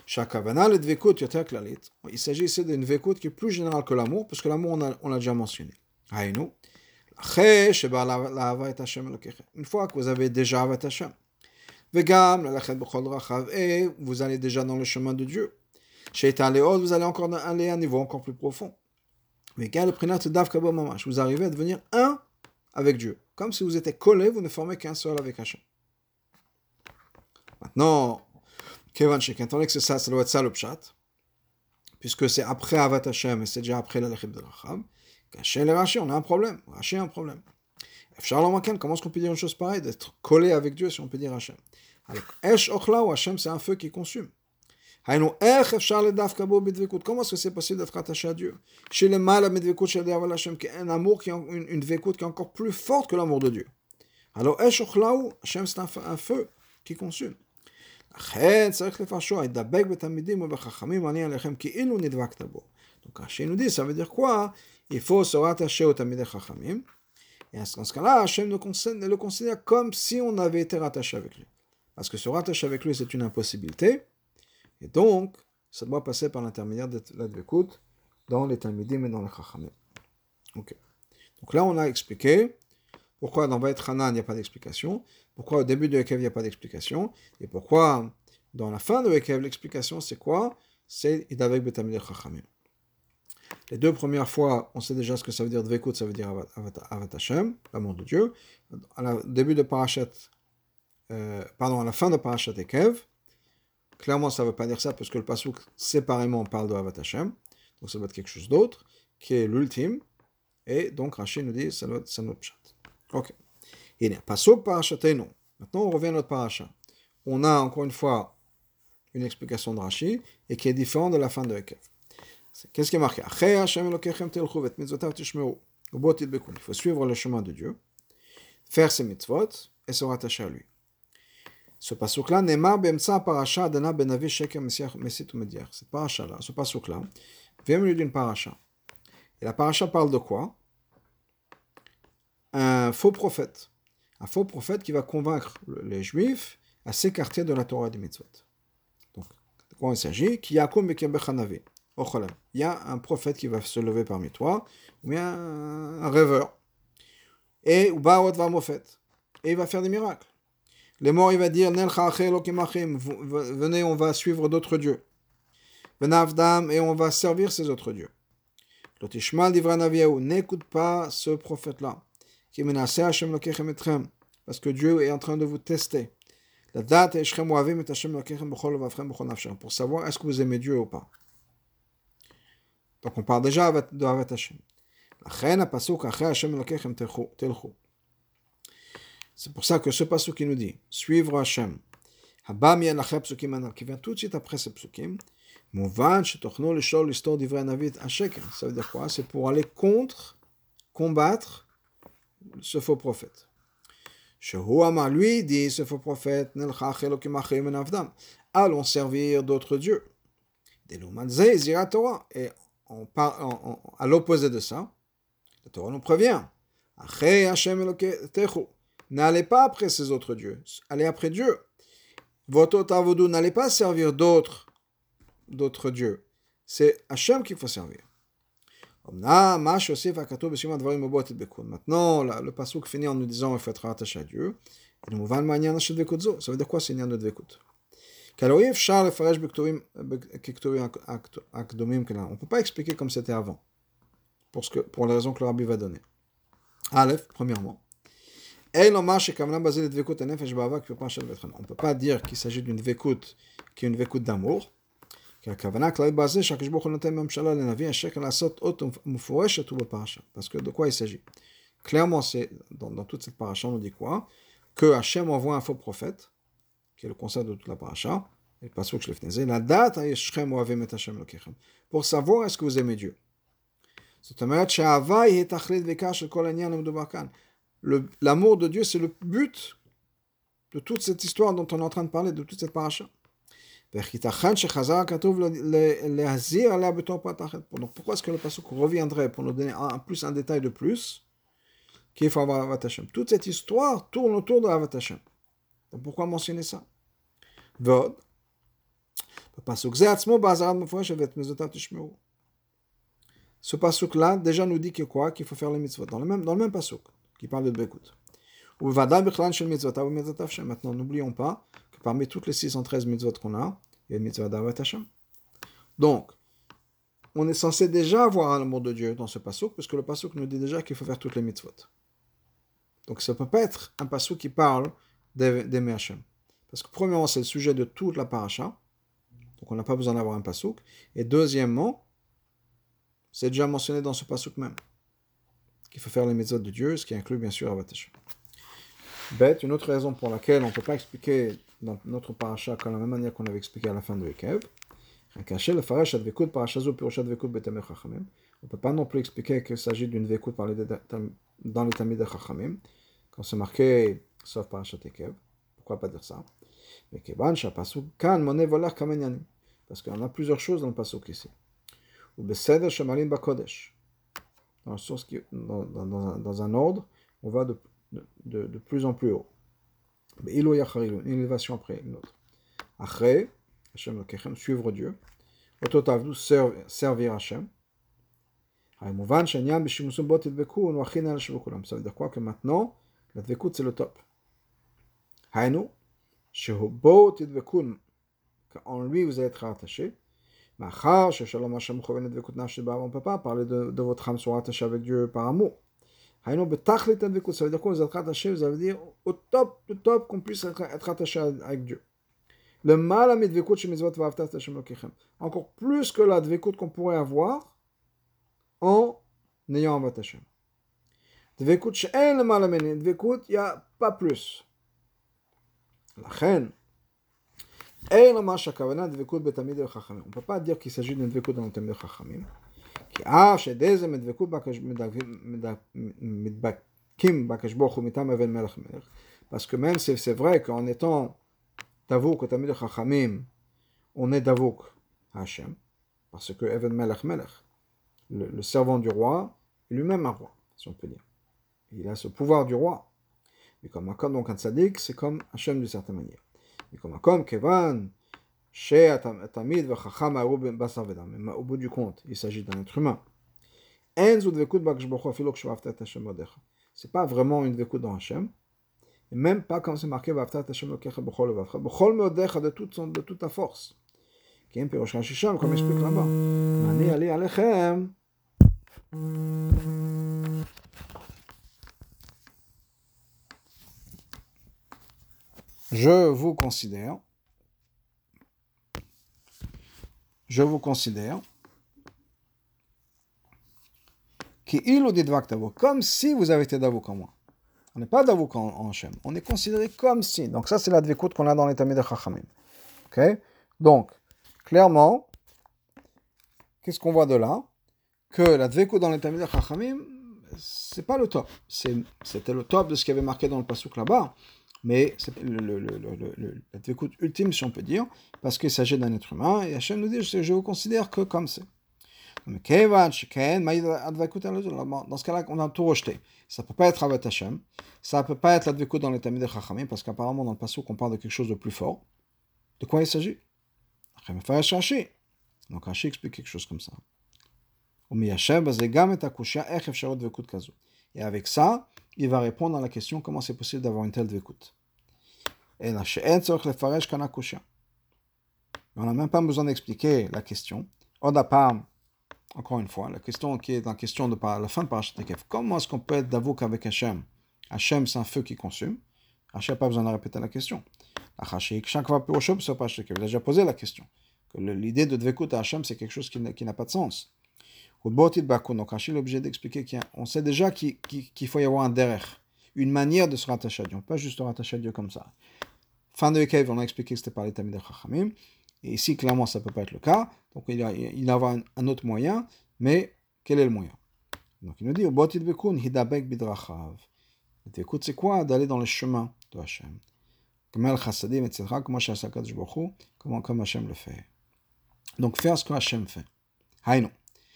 il s'agit ici d'une Dvekut qui est plus générale que l'amour, parce que l'amour, on l'a déjà mentionné. Une fois que vous avez déjà Avat Hashem, et vous allez déjà dans le chemin de Dieu, vous allez encore aller à un niveau encore plus profond. Vous arrivez à devenir un avec Dieu. Comme si vous étiez collés, vous ne formez qu'un seul avec Hashem. Maintenant, étant donné que c'est ça, ça doit être ça le pshat, puisque c'est après Avat Hashem et c'est déjà après la Lechem de Rachab, chez les Rashi, on a un problème. Rashi a un problème. Comment est-ce qu'on peut dire une chose pareille, d'être collé avec Dieu si on peut dire Hashem? Alors, Esh Ochla ou Hashem, c'est un feu qui consume. Comment est-ce que c'est possible d'être attaché à Dieu? Chez le mal, un amour qui est une dvekut qui est encore plus forte que l'amour de Dieu. Alors, Esh Ochla, Hashem, c'est un feu qui consume. Donc, Rashi nous dit, ça veut dire quoi? Il faut se rattacher au Tamidei Chachamim. Et dans ce cas-là, Hashem le considère comme si on avait été rattaché avec lui. Parce que se rattacher avec lui, c'est une impossibilité. Et donc, ça doit passer par l'intermédiaire de la Dvekut dans les Talmidim et dans les Chachamim. Okay. Donc là, on a expliqué pourquoi dans Vayet Hanan, il n'y a pas d'explication, pourquoi au début de Ekev, il n'y a pas d'explication, et pourquoi dans la fin de Ekev, l'explication, c'est quoi? C'est Idavek Betamidei Chachamim. Les deux premières fois, on sait déjà ce que ça veut dire Dvekut, ça veut dire Avat Hashem, l'amour de Dieu. À la fin de Parashat Ekev, clairement, ça ne veut pas dire ça, parce que le pasuk séparément parle de Avat Hashem, donc ça doit être quelque chose d'autre, qui est l'ultime, et donc Rashi nous dit, ça doit être notre pshat. Ok. Et pasuk Parashatenu. Maintenant, on revient à notre parasha. On a encore une fois une explication de Rashi, et qui est différente de la fin de Ekev. Qu'est-ce qui est marqué? Il faut suivre le chemin de Dieu, faire ses mitzvot et se rattacher à lui. Ce pasuk-là, Ne'mar be'emtsa parasha Adana benavi sheker mesit umediach. Cette parasha-là, ce pasuk-là, vient au milieu d'une parasha. Et la parasha parle de quoi? Un faux prophète. Un faux prophète qui va convaincre les Juifs à s'écarter de la Torah des mitzvot. Donc, de quoi il s'agit? Ki yakum bekem bechanavi. Il y a un prophète qui va se lever parmi toi, ou bien un rêveur. Et il va faire des miracles. Les morts, il va dire venez, on va suivre d'autres dieux. Et on va servir ces autres dieux. N'écoute pas ce prophète-là. Parce que Dieu est en train de vous tester. Pour savoir est-ce que vous aimez Dieu ou pas. Donc on parle déjà de Avat Hashem. C'est pour ça que ce pasuk qui nous dit suivre Hashem, qui vient tout de suite après ce psukim, ça veut dire quoi? C'est pour aller combattre ce faux prophète. Lui dit ce faux prophète, allons servir d'autres dieux. Et à l'opposé de ça, la Torah nous prévient. N'allez pas après ces autres dieux, allez après Dieu. Votre tavodu, n'allez pas servir d'autres dieux. C'est Hachem qu'il faut servir. Maintenant, le pasuk finit en nous disant qu'il faut être rattaché à Dieu. Ça veut dire quoi, c'est Nyan de Dvekut? On ne peut pas expliquer comme c'était avant, pour les raisons que le Rabbi va donner. Aleph, premièrement. On ne peut pas dire qu'il s'agit d'une Dvekut qui est une Dvekut d'amour. Parce que de quoi il s'agit? Clairement, c'est dans toute cette paracha, on nous dit quoi? Que Hachem envoie un faux prophète, qui est le concept de toute la paracha, et le pasuk que je l'ai fait, la date pour savoir est-ce que vous aimez Dieu. L'amour de Dieu, c'est le but de toute cette histoire dont on est en train de parler, de toute cette paracha. Donc pourquoi est-ce que le pasuk reviendrait pour nous donner un détail de plus qu'il faut avoir Avat Hashem? Toute cette histoire tourne autour de Avat Hashem. Donc pourquoi mentionner ça? Vod. Ce pasuk-là déjà nous dit que quoi? Qu'il faut faire les mitzvot. Dans le même pasuk, qui parle de Bekut. Maintenant, n'oublions pas que parmi toutes les 613 mitzvot qu'on a, il y a une mitzvah d'Avat Hashem. Donc, on est censé déjà avoir l'amour de Dieu dans ce pasuk, parce que le pasuk nous dit déjà qu'il faut faire toutes les mitzvot. Donc, ça ne peut pas être un pasuk qui parle d'aimer Hashem. Parce que premièrement, c'est le sujet de toute la paracha. Donc, on n'a pas besoin d'avoir un pasuk. Et deuxièmement, c'est déjà mentionné dans ce pasuk même qu'il faut faire les mitzvot de Dieu, ce qui inclut bien sûr Avat Hashem. Bête, une autre raison pour laquelle on ne peut pas expliquer dans notre paracha de la même manière qu'on avait expliqué à la fin de Ekev. On ne peut pas non plus expliquer qu'il s'agit d'une vekut dans les Talmid Chachamim, quand c'est marqué sauf parachat Ekev. Pourquoi pas dire ça? Mais parce qu'il y en a plusieurs choses dans le pasuk ici. Ou beseder shemalim bakodesh. Dans un ordre, on va de plus en plus haut. Une élévation après une autre. Après, Hashem Lokechem, suivre Dieu. Ototavdu, servir Hashem. Ça veut dire quoi? Que maintenant, la dvekut c'est le top. Hainu, shehubot tidvekun, qu'en lui vous allez être attaché. Machar, sheshalom Hashem choven dvekut nafshi ba'av, on ne peut pas parler de votre âme soit attachée avec Dieu par amour. Hainu betachlit dvekut, ça veut dire quoi? Vous êtes attaché, vous allez dire au top, du top, qu'on puisse être attaché avec Dieu. Le mal à dvekut chez mitzvot va'avtat Hashem Lokechem. Encore plus que la dvekut qu'on pourrait avoir en ayant Avat Hashem. Dvekut she'en le mal à dvekut, il n'y a pas plus. La reine. On ne peut pas dire qu'il s'agit d'une dvekut dans le Talmid Chachamim. Parce que même si c'est vrai qu'en étant Davouk au Talmid Chachamim, on est Davouk à Hashem, parce que Even Melech Melech, le servant du roi, est lui-même un roi, si on peut dire. Il a ce pouvoir du roi. Mais comme donc un tzaddik, c'est comme Hashem d'une certaine manière. Mais comme Kevan, chez Tamid v'chacham ha'ru basar v'dam. Mais au bout du compte, il s'agit d'un être humain. C'est pas vraiment une dvekut dans Hashem, et même pas comme c'est marqué v'aftat Hashem lokecha b'chol levavcha, b'chol meodecha de toute ta force. Qui est un pirosh rashisham, comme explique là-bas. Mani ali alechem. Je vous considère comme si vous avez été d'avouk en moi. On n'est pas d'avouk en Hashem. On est considéré comme si. Donc ça, c'est la dvekut qu'on a dans les Talmid Chachamim. Ok? Donc, clairement, qu'est-ce qu'on voit de là? Que la dvekut dans les Talmid Chachamim, c'est pas le top. C'était le top de ce qui avait marqué dans le pasuk là-bas. Mais c'est la dvekut ultime, si on peut dire, parce qu'il s'agit d'un être humain, et Hashem nous dit, je vous considère que comme c'est. Dans ce cas-là, on a tout rejeté. Ça ne peut pas être Avat Hashem, ça ne peut pas être la dvekut dans les Talmid Chachamim, parce qu'apparemment, dans le pasuk, on parle de quelque chose de plus fort. De quoi il s'agit? Rashi. Donc Rashi explique quelque chose comme ça. Et avec ça, il va répondre à la question comment c'est possible d'avoir une telle dvekut. Et là, on n'a même pas besoin d'expliquer la question. Encore une fois, la question qui est en question de la fin de Parashat Ekev. Comment est-ce qu'on peut être davouk avec Hachem? Hachem, c'est un feu qui consume. Hachem n'a pas besoin de répéter la question. Chaque fois plus au chaud, il a déjà posé la question. Que l'idée de dvekut à Hachem, c'est quelque chose qui n'a pas de sens. Donc Hachem est obligé d'expliquer qu'on sait déjà qu'il faut y avoir un derrière, une manière de se rattacher à Dieu, pas juste se rattacher à Dieu comme ça. Fin de Ekev, on a expliqué que c'était par les Talmidei Chachamim. Et ici, clairement, ça ne peut pas être le cas. Donc, il va y avoir un autre moyen. Mais, quel est le moyen? Donc, il nous dit, le dvekut, c'est quoi? D'aller dans le chemin de Hachem. Comme Hachem le fait. Donc, faire ce que Hachem fait. Haïno.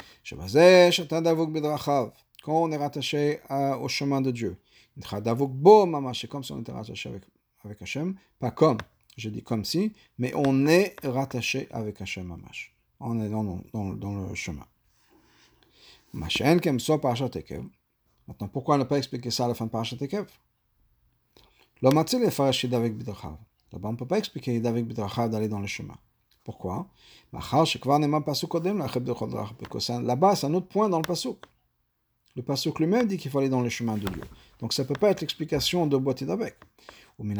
Quand on est rattaché au chemin de Dieu. C'est comme si on était rattaché avec Hachem. Pas comme. Je dis comme si, mais on est rattaché avec Hachem Mamash. On est dans le chemin. Maintenant, pourquoi ne pas expliquer ça à la fin de Parashat Ekev? Là-bas, on ne peut pas expliquer Hidavet Bidrachav d'aller dans le chemin. Pourquoi? Là-bas, c'est un autre point dans le pasuk. Le pasuk lui-même dit qu'il faut aller dans le chemin de Dieu. Donc, ça ne peut pas être l'explication de Bot Hidavek. Donc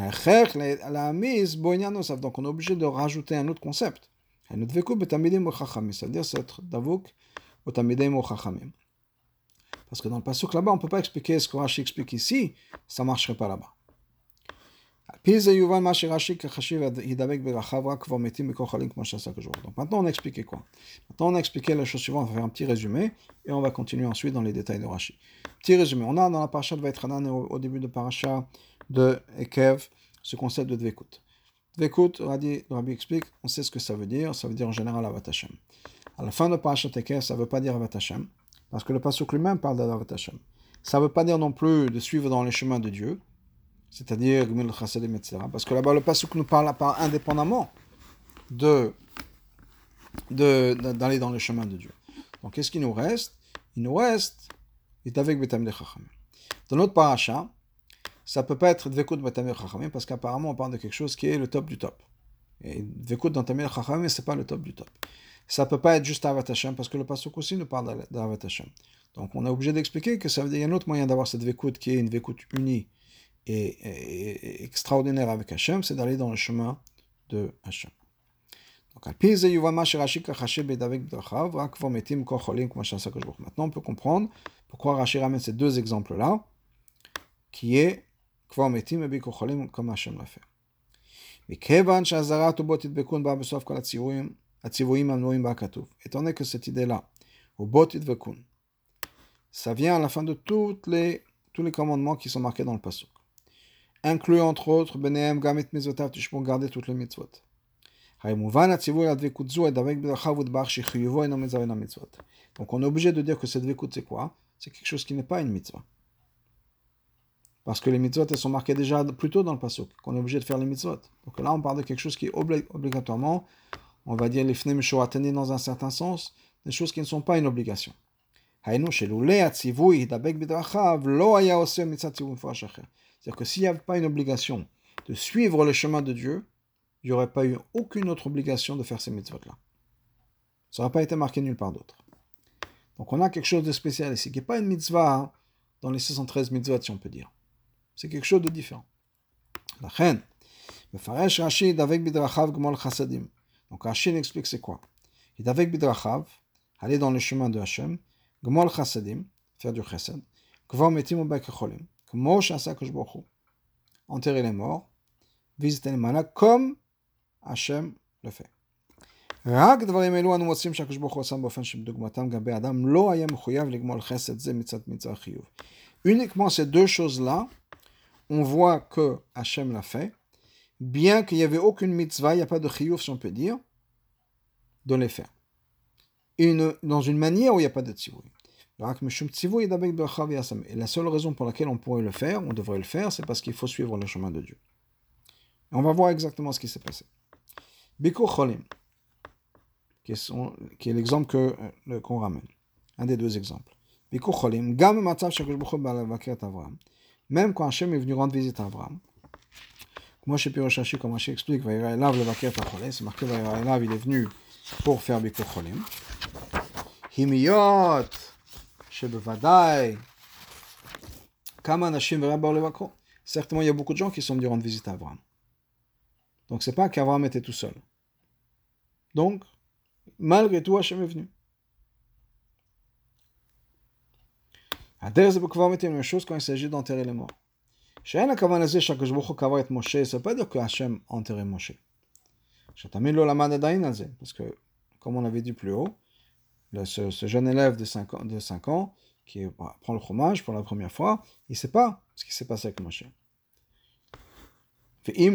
on est obligé de rajouter un autre concept. C'est-à-dire c'est Davouk au Tamidei Chachamim. Parce que dans le pasuk là-bas, on ne peut pas expliquer ce que Rashi explique ici, ça ne marcherait pas là-bas. Donc maintenant on a expliqué quoi? Maintenant on a expliqué la chose suivante, on va faire un petit résumé et on va continuer ensuite dans les détails de Rashi. Petit résumé, on a dans la parasha de Vaïtranan au début de parasha de Ekev ce concept de Dvekut. Dvekut, Rabbi explique, on sait ce que ça veut dire en général Avat Hashem. À la fin de parasha de Ekev, ça ne veut pas dire Avat Hashem, parce que le pasuk lui-même parle d'Avat Hashem. Ça ne veut pas dire non plus de suivre dans les chemins de Dieu, c'est-à-dire Gmil Chasadim, etc. Parce que là-bas, le pasuk nous parle indépendamment d'aller dans le chemin de Dieu. Donc, qu'est-ce qu'il nous reste? Il nous reste Hitavek Betamidei Chachamim. Dans notre parasha, ça ne peut pas être Dvekut Betamidei Chachamim parce qu'apparemment, on parle de quelque chose qui est le top du top. Et Dvekut dans Tamidei Chachamim, ce n'est pas le top du top. Ça ne peut pas être juste Avat Hashem parce que le pasuk aussi nous parle d'Avat Hashem. Donc, on est obligé d'expliquer que ça veut dire qu'il y a un autre moyen d'avoir cette Dvekut qui est une Dvekut unie et extraordinaire avec Hachem, c'est d'aller dans le chemin de Hachem. Donc, maintenant, on peut comprendre pourquoi Rashi ramène ces deux exemples-là, qui est comme Hachem l'a fait. Étant donné que cette idée-là, ça vient à la fin de tous les commandements qui sont marqués dans le pasuk, inclut entre autres Benehem Gamet Mitzvotav, tu peux garder toutes les mitzvot. Donc on est obligé de dire que cette dvekut c'est quoi? C'est quelque chose qui n'est pas une mitzvah. Parce que les mitzvot elles sont marquées déjà plus tôt dans le pasuk, qu'on est obligé de faire les mitzvot. Donc là on parle de quelque chose qui est obligatoirement, on va dire les fnem shoatani dans un certain sens, des choses qui ne sont pas une obligation. C'est-à-dire que s'il n'y avait pas une obligation de suivre le chemin de Dieu, il n'y aurait pas eu aucune autre obligation de faire ces mitzvot-là. Ça n'aurait pas été marqué nulle part d'autre. Donc on a quelque chose de spécial ici, qui n'est pas une mitzvah dans les 613 mitzvot, si on peut dire. C'est quelque chose de différent. La reine, Mefaresh Rashi d'avek bidrachav gmol chasadim. Donc Rashi explique c'est quoi? Et d'avek bidrachav, aller dans le chemin de Hachem, gmol chasadim, faire du chesed, kvar metim ubek cholim, kmo shasa kashbochu, enterrer les morts, visiter les malades, comme Hachem le fait. רק דברים אלו אנו מוצאים שהקדוש ברוך הוא עושה באופן שבדוגמתם גם באדם לא היה מחויב לגמול חסד זה מצד מצווה חיוב. Uniquement ces deux choses-là, on voit que Hachem l'a fait, bien qu'il n'y avait aucune mitzvah, il n'y a pas de chiyuv, si on peut dire, de les faire. Dans une manière où il n'y a pas de tzivouy. Et la seule raison pour laquelle on pourrait le faire, on devrait le faire, c'est parce qu'il faut suivre le chemin de Dieu. Et on va voir exactement ce qui s'est passé. Bikur Cholim, qui est l'exemple qu'on ramène. Un des deux exemples. Bikur Cholim, Gam Matzav Shakadosh Baruch Hu Ba'Vakirat Avraham. Même quand Hachem est venu rendre visite à Avraham. Moi, chez Pirosh Rashi, comme Rashi explique, Vayira Elav Levakirat Acholé, c'est marqué Vayira Elav, il est venu pour faire Bikur Cholim. Himiyot, Shebevadai, Kama Nashim Verabar Levakro. Certainement, il y a beaucoup de gens qui sont venus rendre visite à Avraham. Donc, c'est pas qu'Avraham était tout seul. Donc, malgré tout, Hachem est venu. Adère, c'est pour mettre une chose quand il s'agit d'enterrer les morts. Chez la Kavan Azé, chaque jour, Kavar et Moshe, ça ne veut pas dire que Hachem a enterré Moshe. Chatamil lo lamad adayin azé, parce que, comme on avait dit plus haut, ce jeune élève de 5 ans, qui prend le fromage pour la première fois, il ne sait pas ce qui s'est passé avec Moshe. Et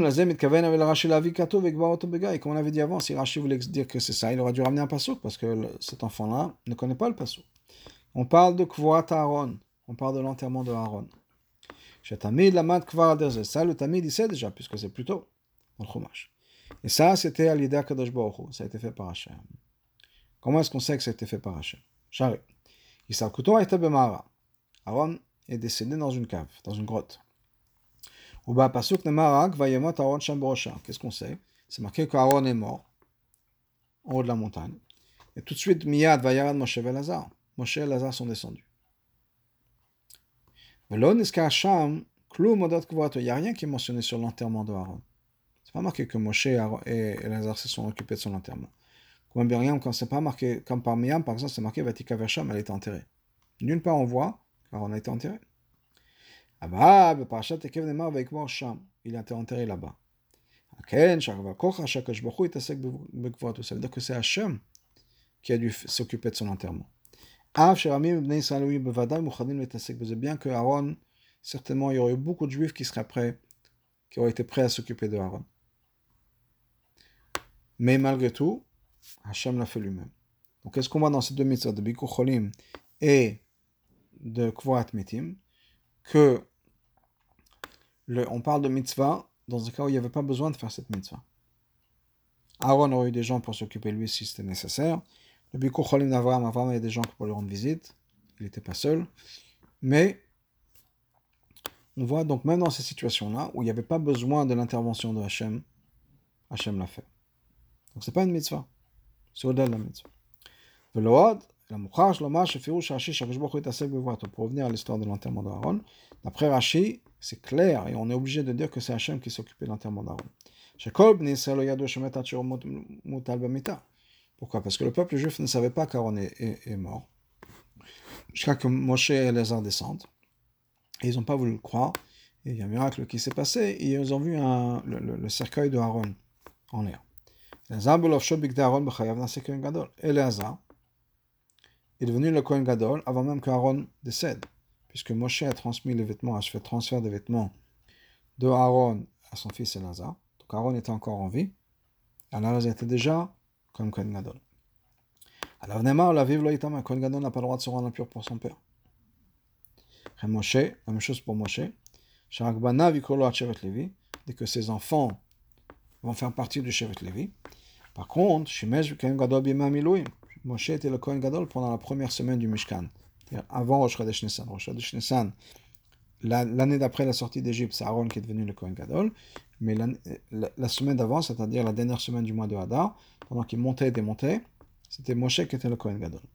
comme on avait dit avant, si Rashi voulait dire que c'est ça, il aurait dû ramener un passouk, parce que cet enfant-là ne connaît pas le passouk. On parle de Kvoat Aaron, on parle de l'enterrement de Aaron. Tamid lamad kvar aderze, ça le Tamid il sait déjà, puisque c'est plus tôt dans le fromage. Et ça, c'était à l'idée Kadosh Baruch Hu, ça a été fait par Hachem. Comment est-ce qu'on sait que ça a été fait par Hachem? Charé. Isarkuto a été bemara. Aaron est décédé dans une cave, dans une grotte. Uba pasuk nemarak vayemot Aaron sham borosha. Qu'est-ce qu'on sait? C'est marqué qu'Aaron est mort en haut de la montagne. Et tout de suite, miyad vayarad Moshe et Lazare. Moshe et Lazare sont descendus. Mais là, il n'y a rien qui est mentionné sur l'enterrement de Aaron. C'est pas marqué que Moshe et Lazare se sont occupés de son enterrement. Comme Myriam, quand c'est pas marqué, comme par Myriam, par exemple, c'est marqué Vatika Versham, elle a été enterrée. D'une part, on voit qu'Aaron a été enterré. Il a été enterré là-bas. Ça veut dire que c'est Hachem qui a dû s'occuper de son enterrement. Bien que Aaron, certainement, il y aurait eu beaucoup de juifs qui seraient prêts, qui auraient été prêts à s'occuper de Aaron. Mais malgré tout, Hachem l'a fait lui-même. Donc, qu'est-ce qu'on voit dans ces deux mitzvahs de Bikur Cholim et de Kvoat Mitim? Que on parle de mitzvah dans un cas où il n'y avait pas besoin de faire cette mitzvah. Aaron aurait eu des gens pour s'occuper de lui si c'était nécessaire. Le Bikur Cholim d'Avraham, il y a des gens pour lui rendre visite. Il n'était pas seul. Mais on voit donc même dans ces situations-là où il n'y avait pas besoin de l'intervention de Hachem, Hachem l'a fait. Donc c'est pas une mitzvah. C'est au-delà de la mitzvah. Pour revenir à l'histoire de l'enterrement d'Aaron, d'après Rashi, c'est clair et on est obligé de dire que c'est Hachem qui s'occupait de l'enterrement d'Aaron. Pourquoi? Parce que le peuple juif ne savait pas qu'Aaron est mort. Jusqu'à que Moshe et Elazar descendent. Et ils n'ont pas voulu le croire. Et il y a un miracle qui s'est passé. Et ils ont vu le cercueil de Aaron en l'air. Elazar est devenu le Kohen Gadol avant même qu'Aaron décède. Puisque Moshe a transmis les vêtements, a fait transfert des vêtements de Aaron à son fils Elazar. Donc Aaron était encore en vie. Elazar était déjà comme Kohen Gadol. Alors Neymar, la vive loïtama, Kohen Gadol n'a pas le droit de se rendre impur pour son père. Et Moshe, la même chose pour Moshe. Sharakbana vikolo Shevet Levi, dès que ses enfants vont faire partie du Shevet Levi. Par contre, Shimesh Kohen Gadol b'yemei miluim. Moshe était le Kohen Gadol pendant la première semaine du Mishkan, c'est-à-dire avant Rosh Chodesh Nissan. Rosh Chodesh Nissan, l'année d'après la sortie d'Égypte, c'est Aaron qui est devenu le Kohen Gadol. Mais la semaine d'avant, c'est-à-dire la dernière semaine du mois de Hadar, pendant qu'il montait et démontait, c'était Moshe qui était le Kohen Gadol.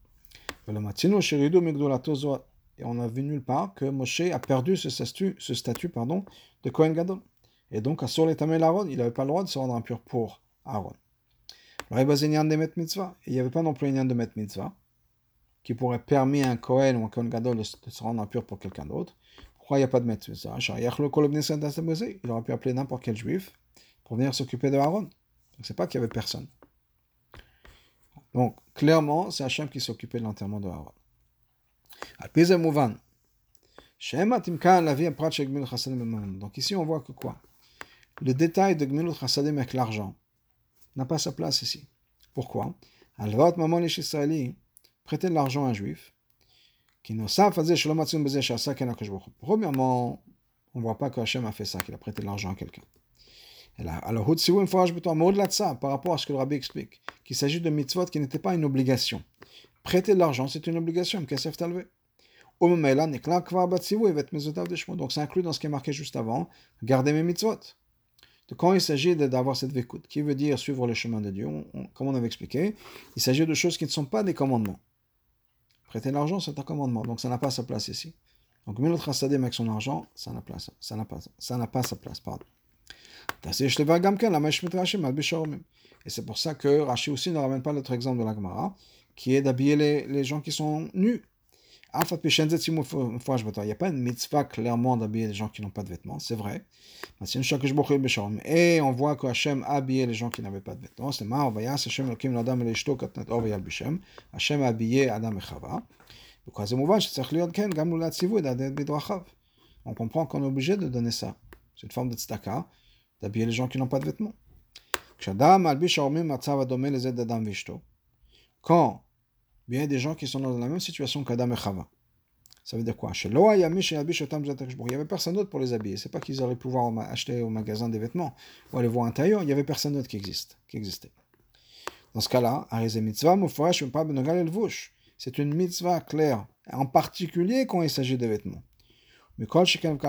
Et on a vu nulle part que Moshe a perdu ce statut de Kohen Gadol. Et donc, Asur l'Etamel Aaron, il n'avait pas le droit de se rendre impur pour Aaron. Il n'y avait pas non plus un de Met Mitzvah qui pourrait permettre à un Kohen ou un Kohen Gadol de se rendre impur pour quelqu'un d'autre. Pourquoi il n'y a pas de Met Mitzvah? Il aurait pu appeler n'importe quel juif pour venir s'occuper de Aaron. Donc, c'est pas qu'il y avait personne. Donc, clairement, c'est Hachem qui s'occupait de l'enterrement de Aaron. Donc, ici, on voit que quoi? Le détail de Gmilut Chassadim avec l'argent n'a pas sa place ici. Pourquoi? Alvat Mamon Ish Israéli, prêter de l'argent à un juif, qui ne savent pas Premièrement, on ne voit pas que Hachem a fait ça, qu'il a prêté de l'argent à quelqu'un. Alors, mais au-delà de ça, par rapport à ce que le rabbi explique, qu'il s'agit de mitzvot qui n'étaient pas une obligation. Prêter de l'argent, c'est une obligation, donc c'est inclus dans ce qui est marqué juste avant, garder mes mitzvot. De quand il s'agit d'avoir cette vécoute, qui veut dire suivre le chemin de Dieu, comme on avait expliqué, il s'agit de choses qui ne sont pas des commandements. Prêter de l'argent, c'est un commandement, donc ça n'a pas sa place ici. Donc, Milot Chassadim avec son argent, ça n'a pas sa place, pardon. Et c'est pour ça que Rashi aussi ne ramène pas l'autre exemple de la Gemara, qui est d'habiller les gens qui sont nus. Il n'y a pas une mitzvah clairement d'habiller les gens qui n'ont pas de vêtements, c'est vrai. Et on voit que Hachem a habillé les gens qui n'avaient pas de vêtements. C'est marrant, Hachem a habillé Adam et Chava. On comprend qu'on est obligé de donner ça. C'est une forme de tzedaka, d'habiller les gens qui n'ont pas de vêtements. Quand il y a des gens qui sont dans la même situation qu'Adam et Chava, ça veut dire quoi? Il n'y avait personne d'autre pour les habiller. C'est pas qu'ils auraient pu pouvoir acheter au magasin des vêtements ou aller voir un tailleur, il n'y avait personne d'autre qui existait. Dans ce cas-là, c'est une mitzvah claire, en particulier quand il s'agit de vêtements. Il y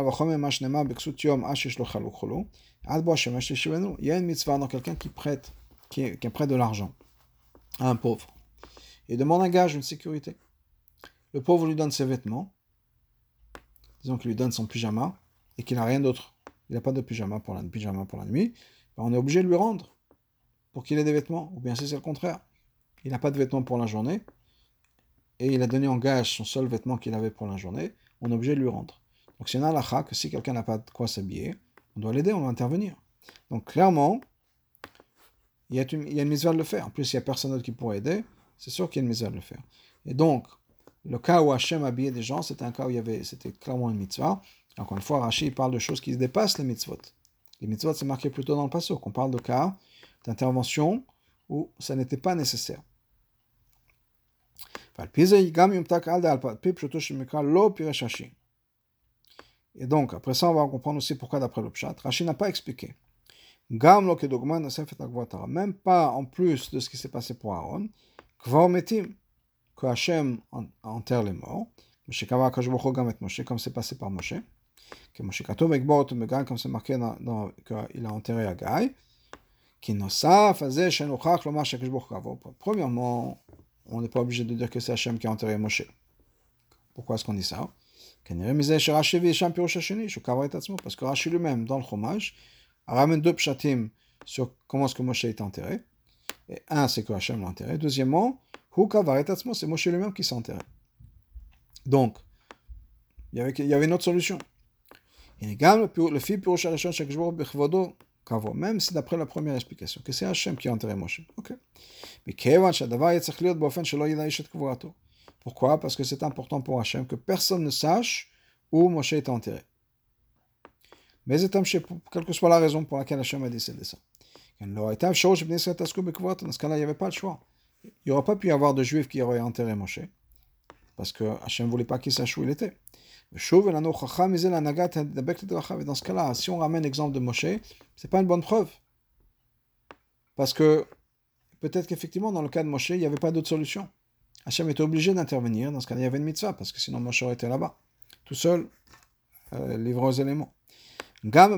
a une mitzvah dans quelqu'un qui prête de l'argent à un pauvre. Il demande un gage, une sécurité. Le pauvre lui donne ses vêtements, disons qu'il lui donne son pyjama, et qu'il n'a rien d'autre. Il n'a pas de pyjama pour la nuit. On est obligé de lui rendre pour qu'il ait des vêtements. Ou bien si c'est le contraire. Il n'a pas de vêtements pour la journée, et il a donné en gage son seul vêtement qu'il avait pour la journée, on est obligé de lui rendre. Donc c'est une halakha que si quelqu'un n'a pas de quoi s'habiller, on doit l'aider, on doit intervenir. Donc clairement, il y a une mitzvah de le faire. En plus, il n'y a personne d'autre qui pourrait aider, c'est sûr qu'il y a une mitzvah de le faire. Et donc, le cas où Hachem habillait des gens, c'était un cas où c'était clairement une mitzvah. Encore une fois, Rashi parle de choses qui dépassent les mitzvot. Les mitzvot, c'est marqué plutôt dans le pasuk. On parle de cas d'intervention où ça n'était pas nécessaire. Et donc, après ça, on va comprendre aussi pourquoi d'après le Pshat, Rashi n'a pas expliqué. Même pas en plus de ce qui s'est passé pour Aaron, que Hachem enterre les morts, comme c'est passé par Moshe, comme c'est marqué qu'il a enterré Agai, premièrement, on n'est pas obligé de dire que c'est Hachem qui a enterré Moshe. Pourquoi est-ce qu'on dit ça? Parce que Rashi lui-même, dans le Chumash, ramène deux pshatim sur comment est-ce que Moshe est enterré. Et un, c'est que Hachem l'a enterré. Deuxièmement, c'est Moshe lui-même qui s'est enterré. Donc, il y avait une autre solution. Même si d'après la première explication, que c'est Hachem qui a enterré Moshe. Ok. Pourquoi? Parce que c'est important pour Hachem que personne ne sache où Moshe est enterré. Mais quelle que soit la raison pour laquelle Hachem a décidé ça. Dans ce cas-là, il n'y avait pas le choix. Il n'y aurait pas pu y avoir de juifs qui auraient enterré Moshe, parce que Hachem ne voulait pas qu'il sache où il était. Et dans ce cas-là, si on ramène l'exemple de Moshe, c'est pas une bonne preuve. Parce que peut-être qu'effectivement, dans le cas de Moshe, il n'y avait pas d'autre solution. Hachem était obligé d'intervenir. Dans ce cas-là, il y avait une mitzvah, parce que sinon Moshe aurait été là-bas, tout seul, livré aux éléments. Parce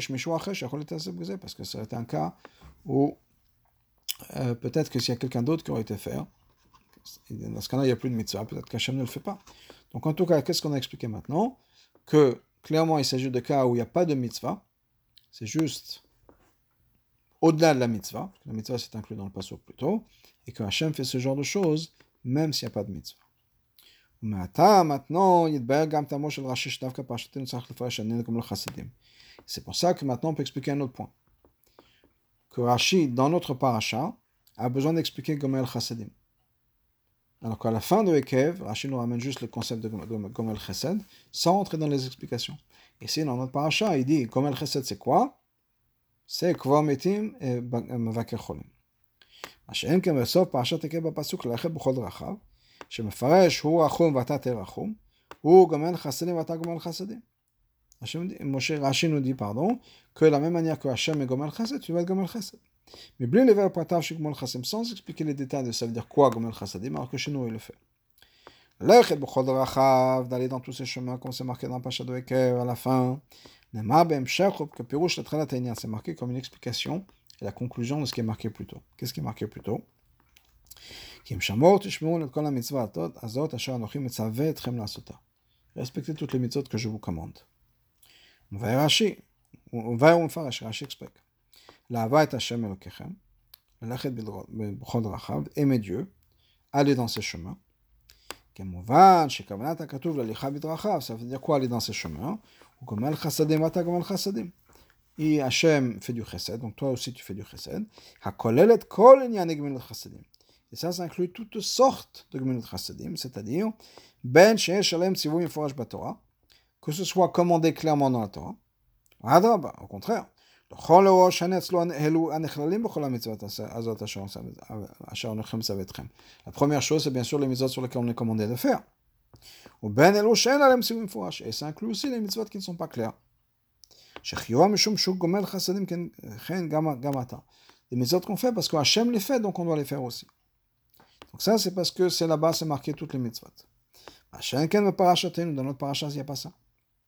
que ça aurait été un cas où peut-être que s'il y a quelqu'un d'autre qui aurait été faire, dans ce cas-là, il n'y a plus de mitzvah, peut-être qu'Hachem ne le fait pas. Donc en tout cas, qu'est-ce qu'on a expliqué maintenant? Que clairement, il s'agit de cas où il n'y a pas de mitzvah, c'est juste au-delà de la mitzvah, parce que la mitzvah c'est inclus dans le pasuk plus tôt, et que Hachem fait ce genre de choses, même s'il n'y a pas de mitzvah. Maintenant, c'est pour ça que maintenant on peut expliquer un autre point. Que Rashi, dans notre parasha, a besoin d'expliquer Gomel Chassidim. Alors qu'à la fin de Ekev, Rashi nous ramène juste le concept de Gomel Chesed, sans entrer dans les explications. Ici, dans notre parasha, il dit Gomel Chesed, c'est quoi? C'est Kvar Metim et Mevaker Cholim. Hachem kemesov parashat Ekev b'pasuk l'acheb b'chol drachav, שמפרש הוא רחום ואתה תרחום, הוא גומל חסדים ואתה גומל חסדים. Rashi nous dit, pardon, que de la même manière que Hachem est Gomel Chesed, tu vas être Gomel Chesed. Mais blé les vers pointages chez Gomel Chesed, sans expliquer les détails de ça veut dire quoi Gomel Chesedim, alors que chez nous il le fait. D'aller dans tous ces chemins, comme c'est marqué dans Pacha Doeker à la fin. C'est marqué comme une explication et la conclusion de ce qui est marqué plus tôt. Qu'est-ce qui est marqué plus tôt? Respectez toutes les mitzvot que je vous commande. On va Rashi explique. La Hava et Hashem Elokechem, Lachet b'chol rachav, aimer Dieu, aller dans ses chemins. Kemovan, shekavanat hakatuv l'alicha b'drachav, ça veut dire quoi aller dans ses chemins? Ou gomel chasadim, vata gomel chasadim. Et Hashem fait du chesed, donc toi aussi tu fais du chesed. Hakolelet kol inyan gemilut chasadim. Et ça inclut toutes sortes de gemilut chasadim, c'est-à-dire ben sheyesh alem tzivui meforash b'Torah, que ce soit commandé clairement dans la Torah. Adraba, au contraire. La première chose, c'est bien sûr les mitzvot sur lesquelles on est commandé de faire. Et ça inclut aussi les mitzvot qui ne sont pas clairs. Les mitzvot qu'on fait parce que Hachem les fait, donc on doit les faire aussi. Donc ça, c'est parce que c'est là-bas, c'est marqué toutes les mitzvot. Dans notre parasha, il n'y a pas ça.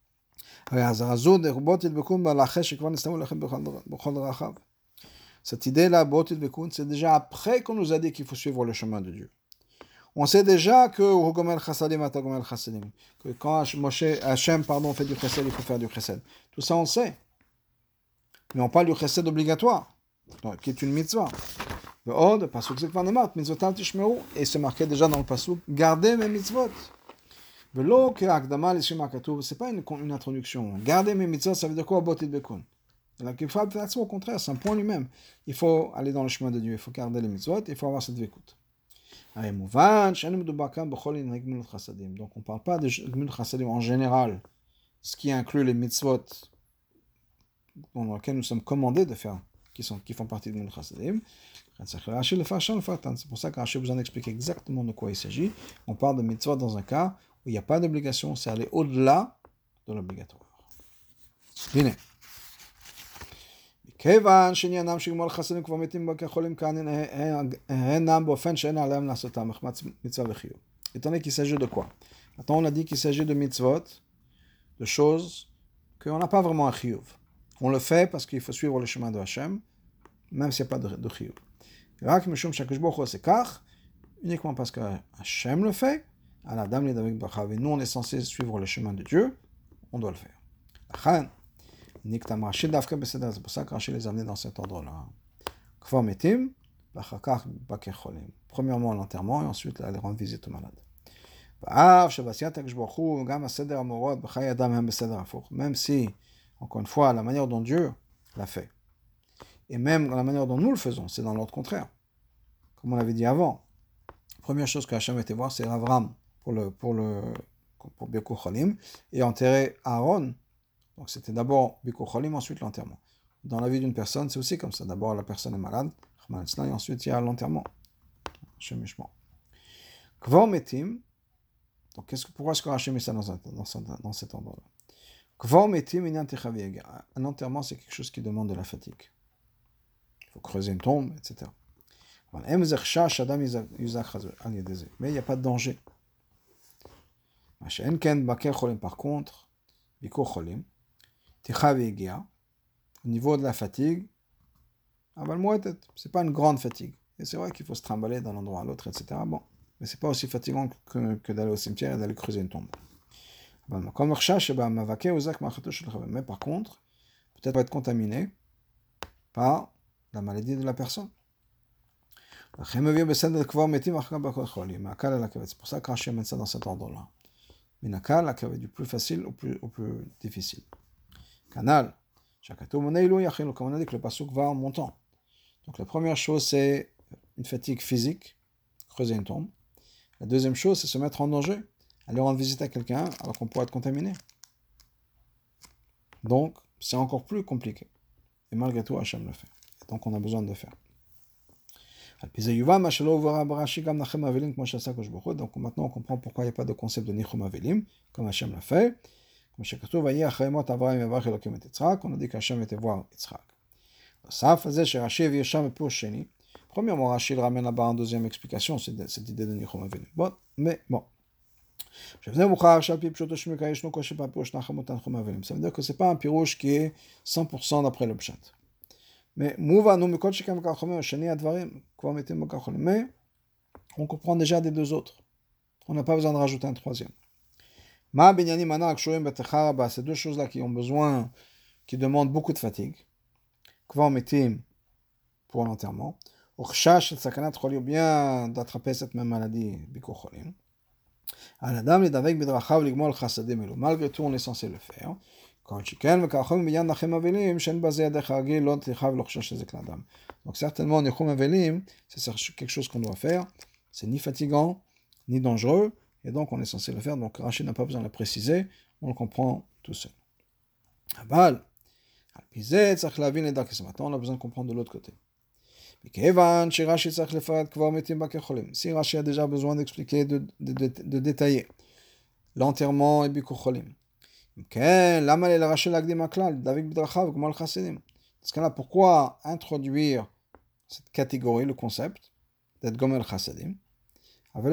Cette idée-là, c'est déjà après qu'on nous a dit qu'il faut suivre le chemin de Dieu. On sait déjà que quand Hachem fait du chesed, il faut faire du chesed. Tout ça, on sait. Mais on parle du chesed obligatoire, qui est une mitzvah. Et c'est marqué déjà dans le pasuk, gardez mes mitzvot. C'est pas une introduction. Garder mes mitzvot, ça veut dire quoi? Au contraire, c'est un point lui-même. Il faut aller dans le chemin de Dieu, il faut garder les mitzvot, il faut avoir cette vécoute. Donc on ne parle pas de gemilut chasadim en général, ce qui inclut les mitzvot dans lesquels nous sommes commandés de faire, qui font partie de gemilut chasadim. C'est pour ça que Rashi vous en explique exactement de quoi il s'agit. On parle de mitzvot dans un cas où il n'y a pas d'obligation, c'est aller au-delà de l'obligatoire. Dîner. Étant donné qu'il s'agit de quoi? Maintenant, on a dit qu'il s'agit de mitzvot, de choses qu'on n'a pas vraiment un chiyuv. On le fait parce qu'il faut suivre le chemin de Hachem, même s'il n'y a pas de chiyuv. Uniquement parce que Hachem le fait, et nous on est censé suivre le chemin de Dieu, on doit le faire. C'est pour ça que Rashi les a amenés dans cet ordre-là. Premièrement l'enterrement et ensuite aller rendre visite aux malades. Même si, encore une fois, la manière dont Dieu l'a fait, et même la manière dont nous le faisons, c'est dans l'ordre contraire. Comme on l'avait dit avant, la première chose que Hachem était voir, c'est Avram pour Bikur Cholim, et enterrer Aaron. Donc c'était d'abord Bikur Cholim, ensuite l'enterrement. Dans la vie d'une personne, c'est aussi comme ça. D'abord la personne est malade, et ensuite il y a l'enterrement. Kvor Metim, donc pourquoi est-ce que Hachem met ça dans cet endroit-là? Kvor Metim, un enterrement, c'est quelque chose qui demande de la fatigue. Il faut creuser une tombe, etc. Mais il n'y a pas de danger. Par contre, au niveau de la fatigue, c'est pas une grande fatigue. Et c'est vrai qu'il faut se trimballer d'un endroit à l'autre, etc. Bon, mais c'est pas aussi fatigant que d'aller au cimetière et d'aller creuser une tombe. Mais par contre, peut-être va être contaminé par la maladie de la personne. C'est pour ça que Rashi met ça dans cet ordre-là. Minakal, du plus facile au plus difficile. Canal. Comme on a dit que le pasuk va en montant. Donc la première chose, c'est une fatigue physique, creuser une tombe. La deuxième chose, c'est se mettre en danger, aller rendre visite à quelqu'un alors qu'on pourrait être contaminé. Donc, c'est encore plus compliqué. Et malgré tout, Hachem le fait. Donc, on a besoin de le faire. Donc maintenant, on comprend pourquoi il n'y a pas de concept de Nichum Avelim, comme Hachem l'a fait. Comme chez Katouf, Vayi Achai Mot Avraham Yavarach Elokim et Yitzhak, on a dit qu'Hachem était voir Yitzhak. Nosaf faisait chez Rashi et Sham et Pirush Sheni. Premièrement, Rashi le ramène là-bas en deuxième explication, c'est cette idée de Nichum Avinu. Bon, mais bon. Ça veut dire que ce n'est pas un pirouche qui est 100% d'après le pshat. Mais on comprend déjà des deux autres. On n'a pas besoin de rajouter un troisième. Ces deux choses-là qui ont besoin, qui demandent beaucoup de fatigue. Pour l'enterrement. Ou bien d'attraper cette même maladie, malgré tout, on est censé le faire. Donc certainement, Nichum Avelim, c'est quelque chose qu'on doit faire. C'est ni fatigant, ni dangereux, et donc on est censé le faire. Donc Rashi n'a pas besoin de le préciser, on le comprend tout seul. Maintenant, on a besoin de comprendre de l'autre côté. Si Rashi a déjà besoin d'expliquer, de détailler l'enterrement et Bikucholim. Dans ce cas-là, pourquoi introduire cette catégorie, le concept d'être Gomel Chasadim? Il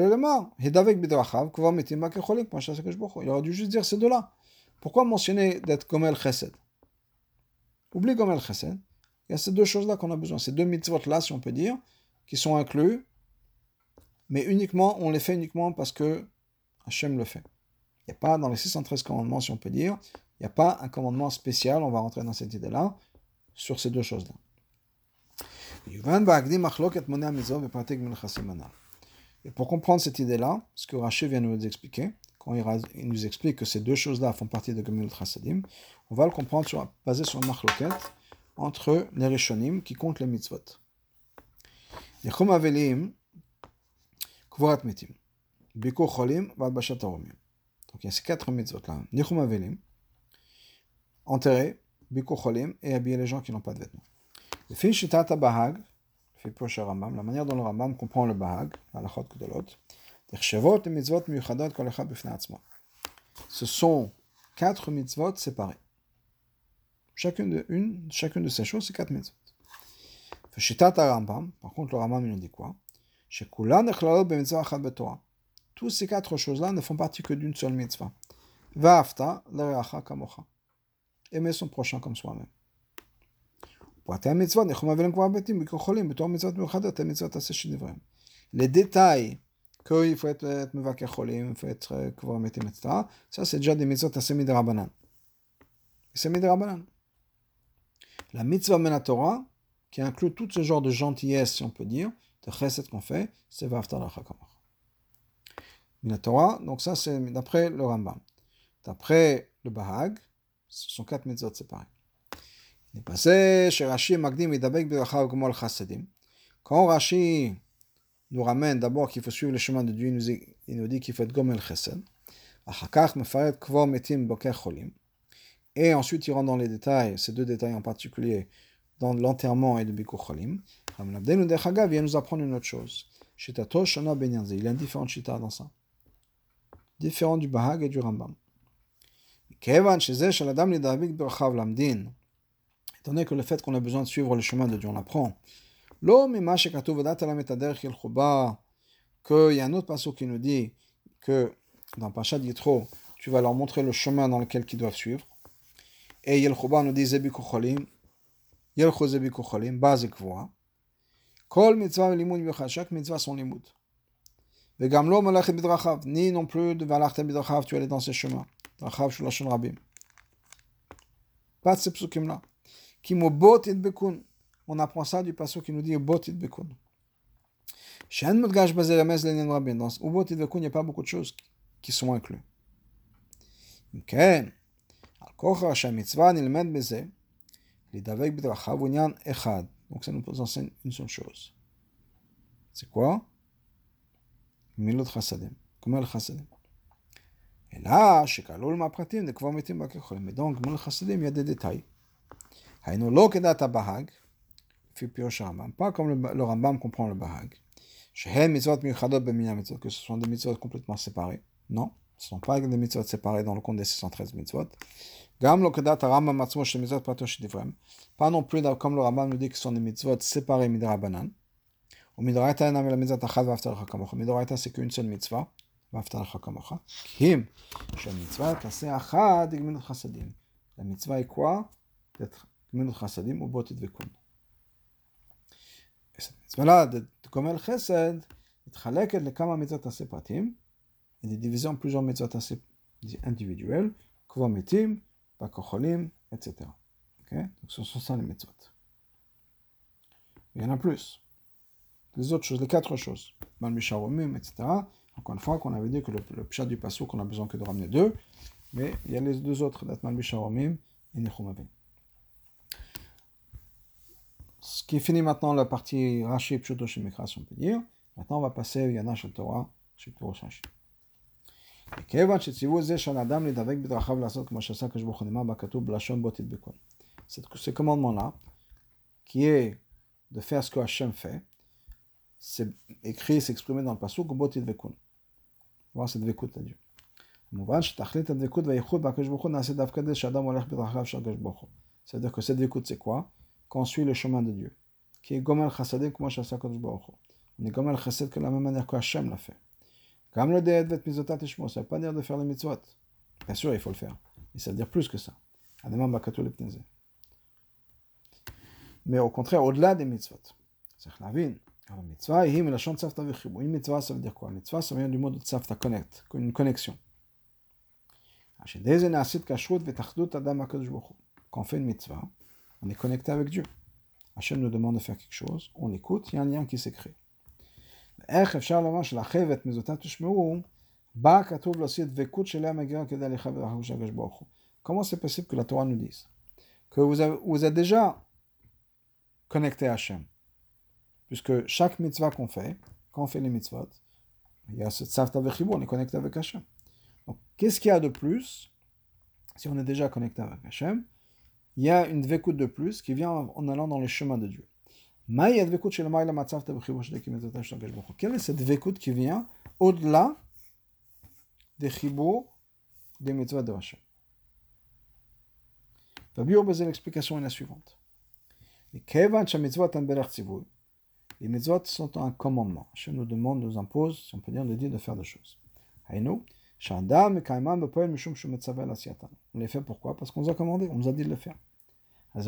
aurait dû juste dire ces deux-là. Pourquoi mentionner d'être Gomel Chesed? Oublie Gomel Chesed. Il y a ces deux choses-là qu'on a besoin, ces deux mitzvot-là, si on peut dire, qui sont inclus, mais on les fait uniquement parce que Hachem le fait. Il n'y a pas, dans les 613 commandements, si on peut dire, il n'y a pas un commandement spécial, on va rentrer dans cette idée-là, sur ces deux choses-là. Et pour comprendre cette idée-là, ce que Rashi vient de nous expliquer, quand il nous explique que ces deux choses-là font partie de Gemilut Chasadim, on va le comprendre basé sur un machloket entre les Rishonim qui comptent les mitzvot. Nichum Avelim, Kvorat Metim, Bikur Cholim, Valbashat Aromim. Donc il y a ces quatre mitzvot-là. Nichum Avelim, enterrer, Bikur Cholim, et habiller les gens qui n'ont pas de vêtements. Le fin Shitata Bahag, le Pirush Rambam, la manière dont le Rambam comprend le Bahag, la Lachot Kedolot, Tirshevot et mitzvot miyuchadot kol echad b'fnei atzmo. Ce sont quatre mitzvot séparés. Chacune de ces choses, c'est quatre mitzvot. Shitat Rambam, par contre, le Rambam, il nous dit quoi? Tous ces quatre choses-là ne font partie que d'une seule mitzvah. Va'afta l'reacha kamocha. Aimer son prochain comme soi-même. Les détails qu'il faut être mevaker cholim, il faut être kvar metim, etc. Ça, c'est déjà des mitzvot assez midrabanan. C'est midrabanan. La mitzvah menatora, qui inclut tout ce genre de gentillesse, si on peut dire, de chesed qu'on fait, c'est va'afta l'reacha kamocha. Minatora, donc ça c'est d'après le Rambam. D'après le Bahag, ce sont quatre mitzvot séparés. Il est passé chez Rashi Magdim et Dabek Birachav Gomol Chasadim. Quand Rashi nous ramène d'abord qu'il faut suivre le chemin de Dieu, il nous dit qu'il faut être Gomel Chesed. Achakach Mefaret Kvor Metim Boker Cholim. Et ensuite il rentre dans les détails, ces deux détails en particulier, dans l'enterrement et le Bikur Cholim. Ram Abdenu Dechagav vient nous apprendre une autre chose. Shitato Shana Benyanze. Il y a une différente shita dans ça. Différent du Bahag et du Rambam. Kevan Shezeh Shaladam Lidavik Birachav Lamdin. Étant donné que le fait qu'on a besoin de suivre le chemin de Dieu, on l'apprend. Qu'il y a un autre passage qui nous dit que dans Parashat Yitro, tu vas leur montrer le chemin dans lequel ils doivent suivre. Et Yelchuba nous dit Zebiku Cholim, Yelchu Zebiku Cholim, base Kvoa. Kol mitzvah limud bichad, chaque mitzvah son limud. Vegam lo malachet bidrachav, ni non plus de valachtem bidrachav, tu allais dans ces chemins. Drachav shulashon rabim. Pas de ces psukim-là. On apprend ça du passage qui nous dit Ubot Idbekun. Dans Ubot Idbekun, il n'y a pas beaucoup de choses qui sont incluses. Donc ça nous enseigne une seule chose. C'est quoi? Milot Chasadim. Comment le Chasadim? Et là, chez Kalol Mapratim, de Kvar Metim Bakechol. Mais donc, Milot Chasadim, il y a des détails. Haïno lo kedat Bahag. Pas comme le Rambam comprend le Bahag. Que ce sont des mitzvot complètement séparés. Non. Ce ne sont pas des mitzvot séparés dans le compte des 613 mitzvot. Gam lo kedat Rambam atzmo shel mitzvot prato shedivrem. Pas non plus comme le Rambam nous dit que ce sont des mitzvot séparés midrabanan. Ou midoraita enam el mitzvot achad v'aftar lecha kamocha. Midoraita c'est qu'une seule mitzvah. V'aftar lecha kamocha. Kim shel mitzvah taseh achad gminut chasadim. La mitzvah est quoi? D'être gminut chasadim ou botit vekun. Et cette mitzvah-là de gomel chesed מתחלקת לכמה מצוות עשה פרטים, et des divisions en plusieurs mitzvot assez individuelles, kva mitim, bakocholим, etc. Okay? Donc ce sont ça les mitzvot. Il y en a plus. Les autres choses, les 4 choses. Malmisharomim, etc. Encore une fois, qu'on avait dit que le pshat du pasuk, qu'on a besoin que de ramener 2, mais il y a les 2 autres, Malmisharomim et Nechumavim. Ce qui finit maintenant la partie Rashi Pshuto Shemikra, si on peut dire. Maintenant, on va passer au Yana Shel Torah, chez Torah Shashi. Ce commandement-là, qui est de faire ce que Hachem fait, c'est écrit, c'est exprimé dans le pasuk, botit vekun. Voir cette vekut à Dieu. C'est-à-dire que cette vekut, c'est quoi? Qu'on suit le chemin de Dieu. Qui est gomel chasadim, comme Hachem Kadosh Baruch Hu. On est gomel chased que la même manière que Hachem l'a fait. Comme le déet vet mizotat ishmo, ça ne veut pas dire de faire les mitzvot. Bien sûr, il faut le faire. Mais ça veut dire plus que ça. Mais au contraire, au-delà des mitzvot. C'est la vie. Alors, mitzvah, une mitzvah, ça veut dire quoi? Mitzvah, ça vient du mot de tzavta, connect, une connexion. Quand on fait une mitzvah, on est connecté avec Dieu. Hachem nous demande de faire quelque chose, on écoute, il y a un lien qui s'est créé. Comment c'est possible que la Torah nous dise que vous êtes déjà connecté à Hachem? Puisque chaque mitzvah qu'on fait, quand on fait les mitzvot, il y a ce tzavta vechibur, on est connecté avec Hachem. Donc, qu'est-ce qu'il y a de plus si on est déjà connecté avec Hachem? Il y a une dvekout de plus qui vient en allant dans les chemins de Dieu. Quelle est cette dvekout qui vient au-delà des chibour des mitzvahs de Hachem? L'explication est la suivante. Les mitzvot sont un commandement. Hachem nous demande, nous impose, si on peut dire, de faire des choses. On les fait pourquoi? Parce qu'on nous a commandé, on nous a dit de le faire. Le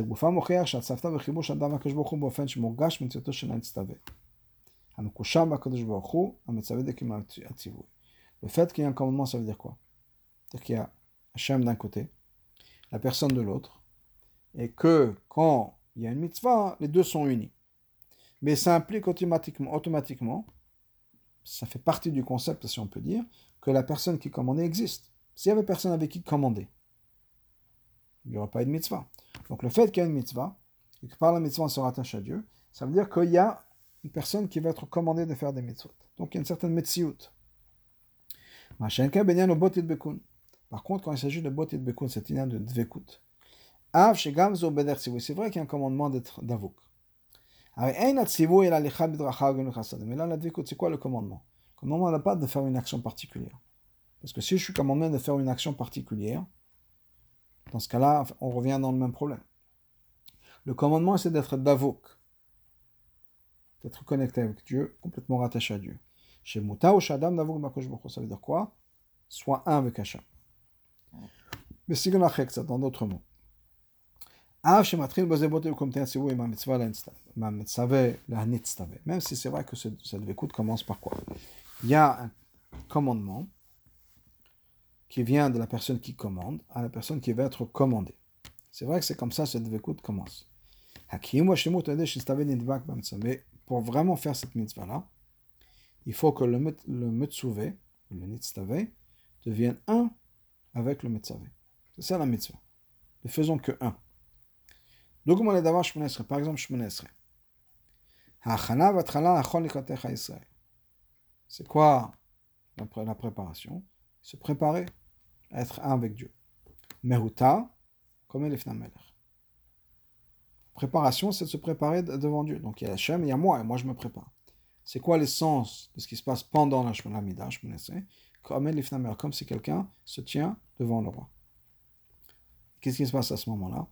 fait qu'il y ait un commandement, ça veut dire quoi? C'est-à-dire qu'il y a Hachem d'un côté, la personne de l'autre, et que quand il y a une mitzvah, les deux sont unis. Mais ça implique automatiquement, ça fait partie du concept, si on peut dire, que la personne qui commandait existe. S'il y avait personne avec qui commander, il n'y aurait pas eu de mitzvah. Donc le fait qu'il y a une mitzvah, et que par la mitzvah on se rattache à Dieu, ça veut dire qu'il y a une personne qui va être commandée de faire des mitzvot. Donc il y a une certaine metsiout. Par contre, quand il s'agit de botit bekun, c'est une de dvekut. C'est vrai qu'il y a un commandement d'être d'avouk. Mais là, la dvekut, c'est quoi le commandement? Le commandement n'a pas de faire une action particulière. Parce que si je suis commandé de faire une action particulière, dans ce cas-là, on revient dans le même problème. Le commandement, c'est d'être davouk, d'être connecté avec Dieu, complètement rattaché à Dieu. Chez Mouta ou Shadam davouk bakosh boko, ça veut dire quoi? Soit un avec Hachem. Mais si on a ça dans d'autres mots. Même si c'est vrai que cette vécoute commence par quoi? Il y a un commandement qui vient de la personne qui commande à la personne qui va être commandée. C'est vrai que c'est comme ça que cette vécoute commence. Mais pour vraiment faire cette mitzvah-là, il faut que le metzuvé, le nitztavé, devienne un avec le metzavé. C'est ça la mitzvah. Ne faisons que un. Par exemple, Shmona Esrei. C'est quoi la préparation? Se préparer à être un avec Dieu. Mehuta, comme Elifna Melech. Préparation, c'est de se préparer devant Dieu. Donc il y a Hachem, il y a moi, et moi je me prépare. C'est quoi l'essence de ce qui se passe pendant la Shmona Mida, Shmona Esrei? comme si quelqu'un se tient devant le roi. Qu'est-ce qui se passe à ce moment-là?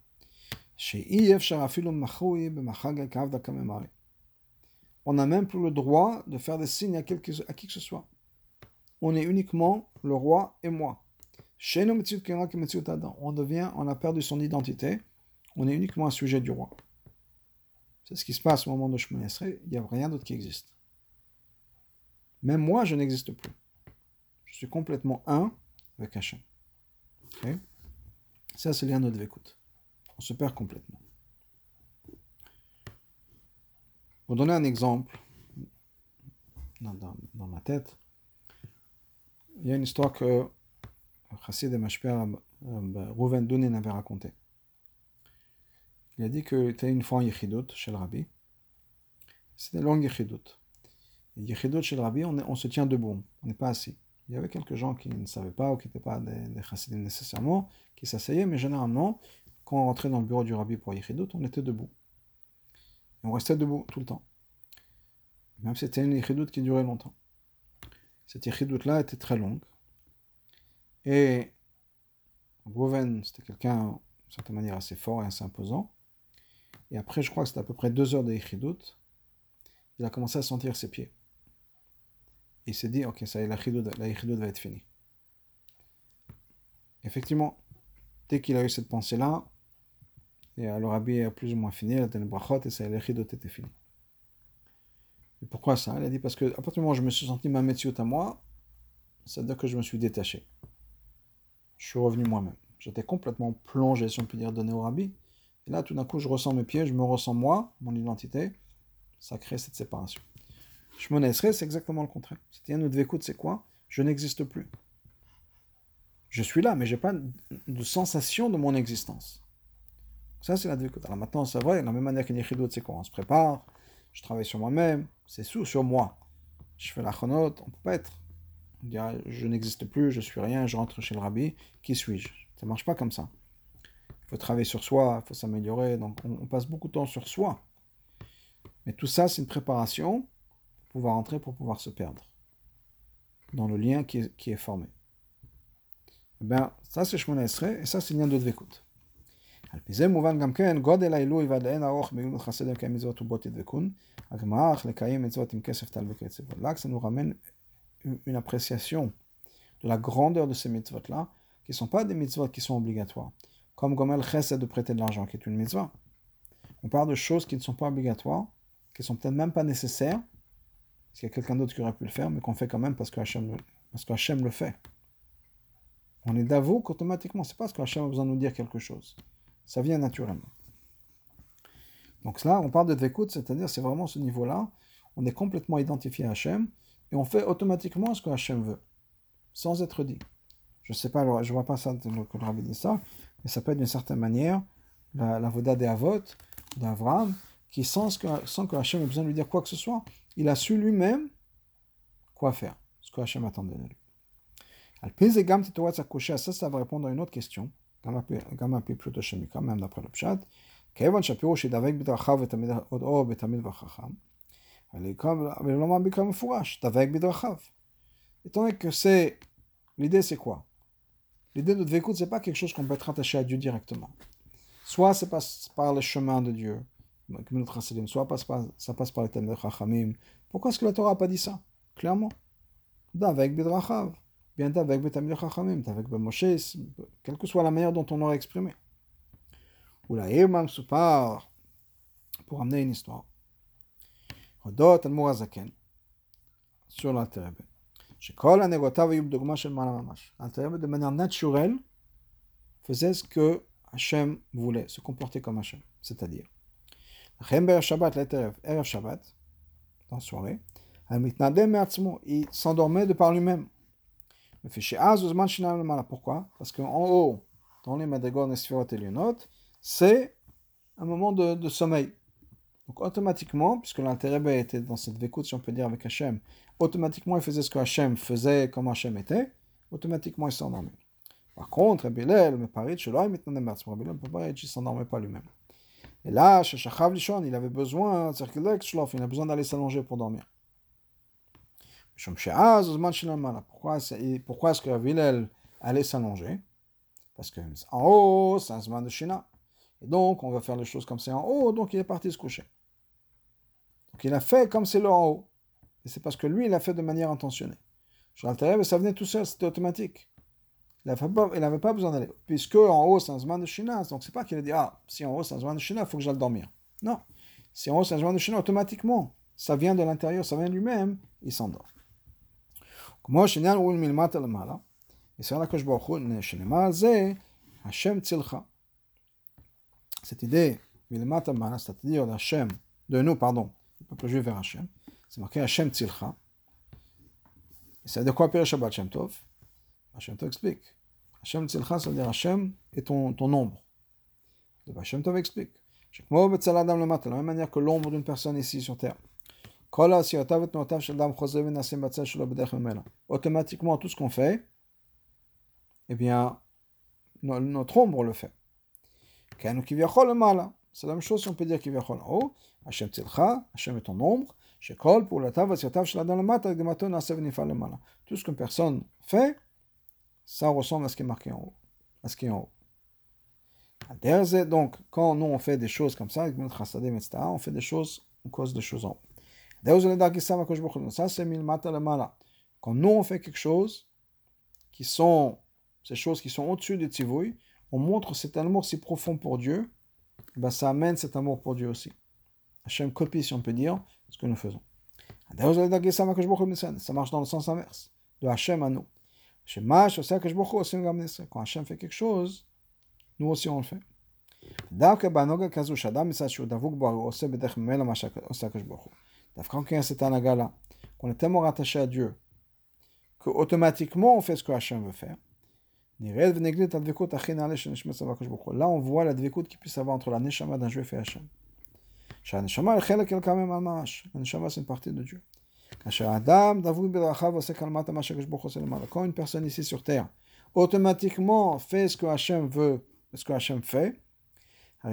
On n'a même plus le droit de faire des signes à qui que ce soit. On est uniquement le roi et moi. On a perdu son identité, on est uniquement un sujet du roi. C'est ce qui se passe au moment de Shemona Esrei, il n'y a rien d'autre qui existe. Même moi, je n'existe plus. Je suis complètement un avec Hachem. Okay? Ça, c'est l'un de Dvekut. On se perd complètement. Pour donner un exemple, dans ma tête, il y a une histoire que Chassid et Mashper Rouven Dounin avait racontée. Il a dit qu'il était une fois en Yechidut chez le Rabbi. C'était une longue Yechidut. Et Yechidut chez le Rabbi, on se tient debout, on n'est pas assis. Il y avait quelques gens qui ne savaient pas ou qui n'étaient pas des Chassidim nécessairement, qui s'asseyaient, mais généralement, quand on rentrait dans le bureau du Rabbi pour Yechidut, on était debout. Et on restait debout tout le temps. Même si c'était une Yechidut qui durait longtemps. Cette Yechidut-là était très longue. Et Rouven, c'était quelqu'un, d'une certaine manière, assez fort et assez imposant. Et après, je crois que c'était à peu près 2 heures de Yechidut, il a commencé à sentir ses pieds. Et il s'est dit, ok, ça y est, la Yechidut va être finie. Effectivement, dès qu'il a eu cette pensée-là, et le Rabbi a plus ou moins fini, il a donné brachot, et ça y est, la Yechidut était finie. Et pourquoi ça? Il a dit, parce que à partir du moment où je me suis senti ma metziut à moi, ça veut dire que je me suis détaché. Je suis revenu moi-même. J'étais complètement plongé, si on peut dire, donné au Rabbi. Et là, tout d'un coup, je ressens mes pieds, je me ressens moi, mon identité. Ça crée cette séparation. Shemona Esrei, c'est exactement le contraire. C'était un autre Dvekut, c'est quoi? Je n'existe plus. Je suis là, mais je n'ai pas de sensation de mon existence. Ça, c'est la Dvekut. Alors maintenant, c'est vrai, de la même manière qu'une Yechidut, c'est quoi? On se prépare, je travaille sur moi-même, c'est sur moi. Je fais la chonot, on ne peut pas être. On dirait, je n'existe plus, je suis rien, je rentre chez le Rabbi, qui suis-je? Ça ne marche pas comme ça. Il faut travailler sur soi, il faut s'améliorer, donc on passe beaucoup de temps sur soi. Mais tout ça, c'est une préparation pour pouvoir entrer, pour pouvoir se perdre dans le lien qui est formé. Eh bien, ça c'est Shemona Esrei, et ça c'est le lien de Dvekut. על פי זה מובן גם כן, גודל העילוי ועד לאין ארוך בגמילות חסדים לקיים מצוות ובו תדבקון, הגמרא לקיים מצוות עם כסף טל וקצב. Là, ça nous ramène une appréciation de la grandeur de ces mitzvot-là, qui ne sont pas des mitzvot qui sont obligatoires. Comme Gomel Chesed de prêter de l'argent, qui est une mitzvah. On parle de choses qui ne sont pas obligatoires, qui ne sont peut-être même pas nécessaires, parce qu'il y a quelqu'un d'autre qui aurait pu le faire, mais qu'on fait quand même parce que Hachem le fait. On est d'avou qu'automatiquement, c'est pas parce que Hachem a besoin de nous dire quelque chose. Ça vient naturellement. Donc là, on parle de Dvekut, c'est-à-dire c'est vraiment ce niveau-là, on est complètement identifié à Hachem, et on fait automatiquement ce que Hachem veut, sans être dit. Je ne sais pas, je ne vois pas ça que le Rabbi dit ça, mais ça peut être d'une certaine manière la voda des Avot, d'Avraham, qui sans que Hachem ait besoin de lui dire quoi que ce soit, il a su lui-même quoi faire, ce que Hachem attendait de lui. Ça va répondre à une autre question, גם על פי פשוט השמיקרא, même d'après le pshat, כיוון שהפירוש ידבק בדרכיו או בתלמיד וחכם, אבל לא מהביקרא מפורש, דבק בדרכיו. Étant donné que l'idée c'est quoi? L'idée de Dvekut, c'est pas quelque chose qu'on peut être attaché à Dieu directement. Soit ça passe par le chemin de Dieu, soit ça passe par les thèmes de Chachamim. Pourquoi est-ce que la Torah n'a pas dit ça? Clairement. D'avec Bidrachav. Bien d'avec Betamid Chachamim, d'avec Moshe, quelle que soit la manière dont on aurait exprimé. Ou la Irmam Soupar, pour amener une histoire. Rodot al-Murazaken, sur l'Alterebe. Shekol ha-negotav yub dogma shel ma'ala mamash. L'Alterebe, de manière naturelle, faisait ce que Hachem voulait, se comporter comme Hachem. C'est-à-dire, Erev Shabbat, dans la soirée, il s'endormait de par lui-même. Pourquoi? Parce qu'en haut, dans les Madrigot Nesfirot et Lionot, c'est un moment de sommeil. Donc automatiquement, puisque l'intérêt était dans cette vécoute, si on peut dire, avec Hachem, automatiquement il faisait ce que Hachem faisait, comme Hachem était, automatiquement il s'endormait. Par contre, Rabbi Hillel, il ne s'endormait pas lui-même. Et là, chez Shachav Lishon, il avait besoin, il a besoin d'aller s'allonger pour dormir. Pourquoi est-ce que Hillel allait s'allonger? Parce que en haut, c'est un zman de Shina. Et donc, on va faire les choses comme c'est en haut, donc il est parti se coucher. Donc il a fait comme c'est le en haut. Et c'est parce que lui, il a fait de manière intentionnée. Sur l'intérieur, ça venait tout seul, c'était automatique. Il n'avait pas besoin d'aller. Puisque en haut, c'est un zman de Shina, donc c'est pas qu'il a dit, ah, si en haut, c'est un zman de Shina, il faut que j'aille dormir. Non. Si en haut, c'est un zman de Shina, automatiquement, ça vient de l'intérieur, ça vient de lui-même, il s'endort. Moi, Shinyan ou Milmata Lamala. Et c'est là que je vois Shinema, c'est Hashem Tzilcha. Cette idée, Milmata Lamala, c'est-à-dire d'Hashem, de nous, pardon, le peuple juif vers Hashem, c'est marqué Hashem Tzilcha. Et c'est de quoi Père Shabbat Hashem Tov? Hashem Tov explique. Hashem Tzilcha, ça veut dire Hashem est ton ombre. Et Hashem Tov explique. De la même manière que l'ombre d'une personne ici sur terre. Automatiquement, tout ce qu'on fait, eh bien, notre ombre le fait. C'est la même chose si on peut dire qu'il en haut. Hashem Tzilcha, Hashem est ton ombre. Pour la tout ce qu'une personne fait, ça ressemble à ce qui est marqué en haut. À ce qui est en haut. Donc, quand nous on fait des choses comme ça, on fait des choses, on cause des choses en haut. Ça, c'est milmata lemala. Quand nous on fait quelque chose, ces choses qui sont au-dessus du tzivouï, on montre cet amour si profond pour Dieu, ben ça amène cet amour pour Dieu aussi. Hachem copie, si on peut dire, ce que nous faisons. Ça marche dans le sens inverse, de Hachem à nous. Quand Hachem fait quelque chose, nous aussi on le fait. Quand il y a cet anaga-là, qu'on est tellement rattaché à Dieu, qu'automatiquement on fait ce que Hachem veut faire, là on voit la dvekut qu'il puisse avoir entre la neshama d'un juif et Hachem. La neshama c'est une partie de Dieu. Quand une personne ici sur terre automatiquement fait ce que Hachem veut, ce que Hachem fait, ça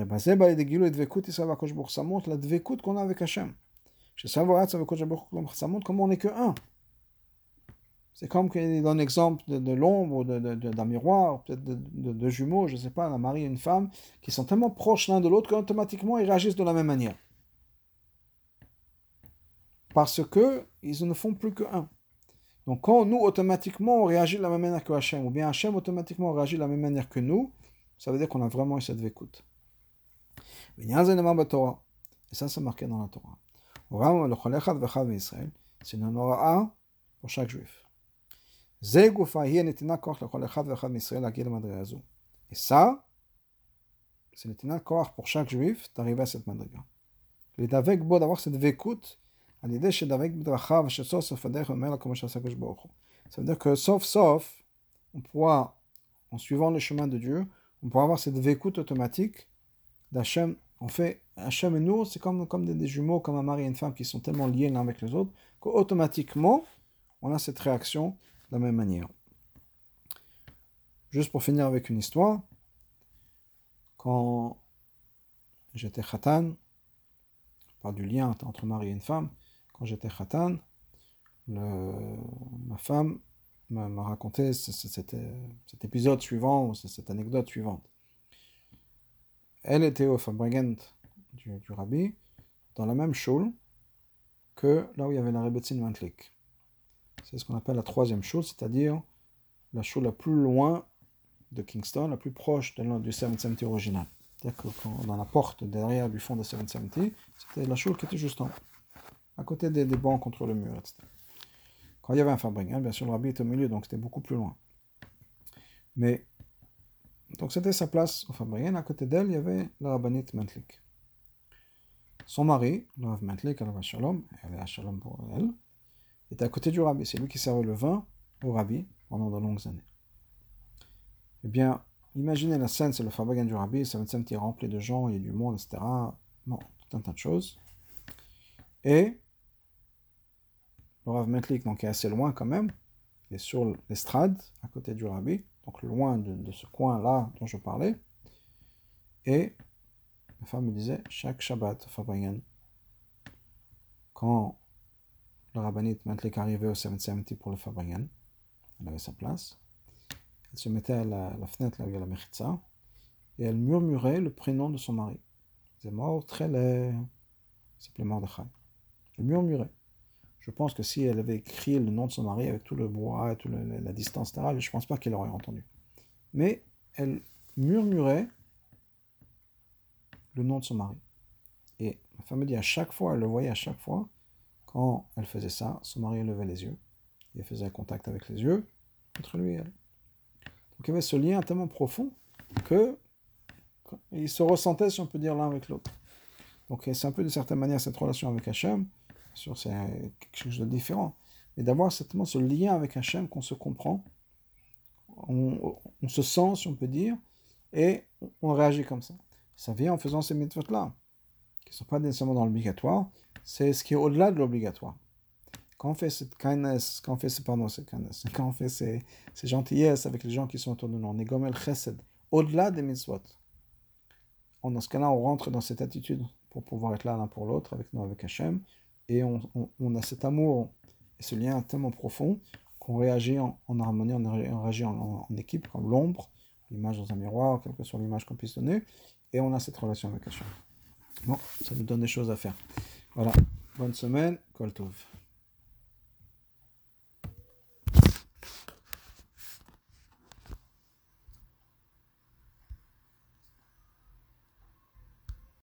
montre la dvekut qu'on a avec Hachem. Ça montre comment on n'est que un. C'est comme qu'il donne l'exemple de l'ombre, d'un miroir, peut-être de jumeaux, je ne sais pas, un mari et une femme, qui sont tellement proches l'un de l'autre qu'automatiquement ils réagissent de la même manière. Parce qu'ils ne font plus qu'un. Donc quand nous, automatiquement, on réagit de la même manière que Hachem, ou bien Hachem, automatiquement, réagit de la même manière que nous, ça veut dire qu'on a vraiment eu cette écoute. Et ça, c'est marqué dans la Torah. C'est une Nora'a pour chaque juif. Et ça, c'est le koach pour chaque juif d'arriver à cette madriga. Il est avec beau d'avoir cette vécoute à l'idée chez d'avec bedrachav chez sauf fadech omela comme ça que je bois. Ça veut dire que sauf on pourra, en suivant le chemin de Dieu, on pourra avoir cette vécoute automatique d'Hachem. En fait, Hachem et nous, c'est comme des jumeaux, comme un mari et une femme qui sont tellement liés l'un avec les autres qu'automatiquement on a cette réaction de la même manière. Juste pour finir avec une histoire, quand j'étais khatan, on parle du lien entre mari et une femme, quand j'étais khatan, ma femme m'a raconté cet épisode suivant, cette anecdote suivante. Elle était au Fabregent du Rabbi, dans la même shul que là où il y avait la Rebbetzin Mantlik. C'est ce qu'on appelle la troisième shul, c'est-à-dire la shul la plus loin de Kingston, la plus proche du 770 original. C'est-à-dire que dans la porte derrière du fond de 770, c'était la shul qui était juste en haut, à côté des bancs contre le mur, etc. Quand il y avait un Fabregent, bien sûr le Rabbi était au milieu, donc c'était beaucoup plus loin. Mais donc c'était sa place au Fabregent, à côté d'elle, il y avait la Rabbanit Mantlik. Son mari, le Rav Mantlik, elle avait Shalom pour elle, était à côté du Rabbi. C'est lui qui servait le vin au Rabbi pendant de longues années. Eh bien, imaginez la scène, c'est le Fabregent du Rabbi, ça va être rempli de gens, il y a du monde, etc. Bon, tout un tas de choses. Et le Rav Mantlik, donc, est assez loin quand même, il est sur l'estrade, à côté du Rabbi, donc loin de ce coin-là dont je parlais. Et ma femme me disait, chaque Shabbat, Fabregent, quand la rabbinite Mentlik arrivait au 770 pour le Fabrienne. Elle avait sa place. Elle se mettait à la fenêtre, là où il y a la Mechitza, et elle murmurait le prénom de son mari. C'est mort, très laid. Il s'appelait Mordechai. Elle murmurait. Je pense que si elle avait écrit le nom de son mari avec tout le brouhaha et toute la distance, etc., je ne pense pas qu'elle aurait entendu. Mais elle murmurait le nom de son mari. Et ma femme me dit, à chaque fois, elle le voyait à chaque fois, quand elle faisait ça, son mari levait les yeux. Il faisait un contact avec les yeux entre lui et elle. Donc il y avait ce lien tellement profond qu'ils se ressentaient, si on peut dire, l'un avec l'autre. Donc c'est un peu, de certaine manière, cette relation avec Hachem. Bien sûr, c'est quelque chose de différent. Mais d'avoir certainement ce lien avec Hachem, qu'on se comprend, on se sent, si on peut dire, et on réagit comme ça. Ça vient en faisant ces mitzvot-là, qui ne sont pas nécessairement dans l'obligatoire, c'est ce qui est au-delà de l'obligatoire. Quand on fait cette kindness, quand on fait ces gentillesses avec les gens qui sont autour de nous, on est gomel chesed, au-delà des mitzvot. Dans ce cas-là, on rentre dans cette attitude pour pouvoir être là l'un pour l'autre, avec nous, avec Hachem, et on a cet amour et ce lien tellement profond qu'on réagit en harmonie, on réagit en équipe, comme l'ombre, l'image dans un miroir, quelle que soit l'image qu'on puisse donner, et on a cette relation avec Hachem. Bon, ça nous donne des choses à faire. Voilà, bonne semaine, Kol Tov.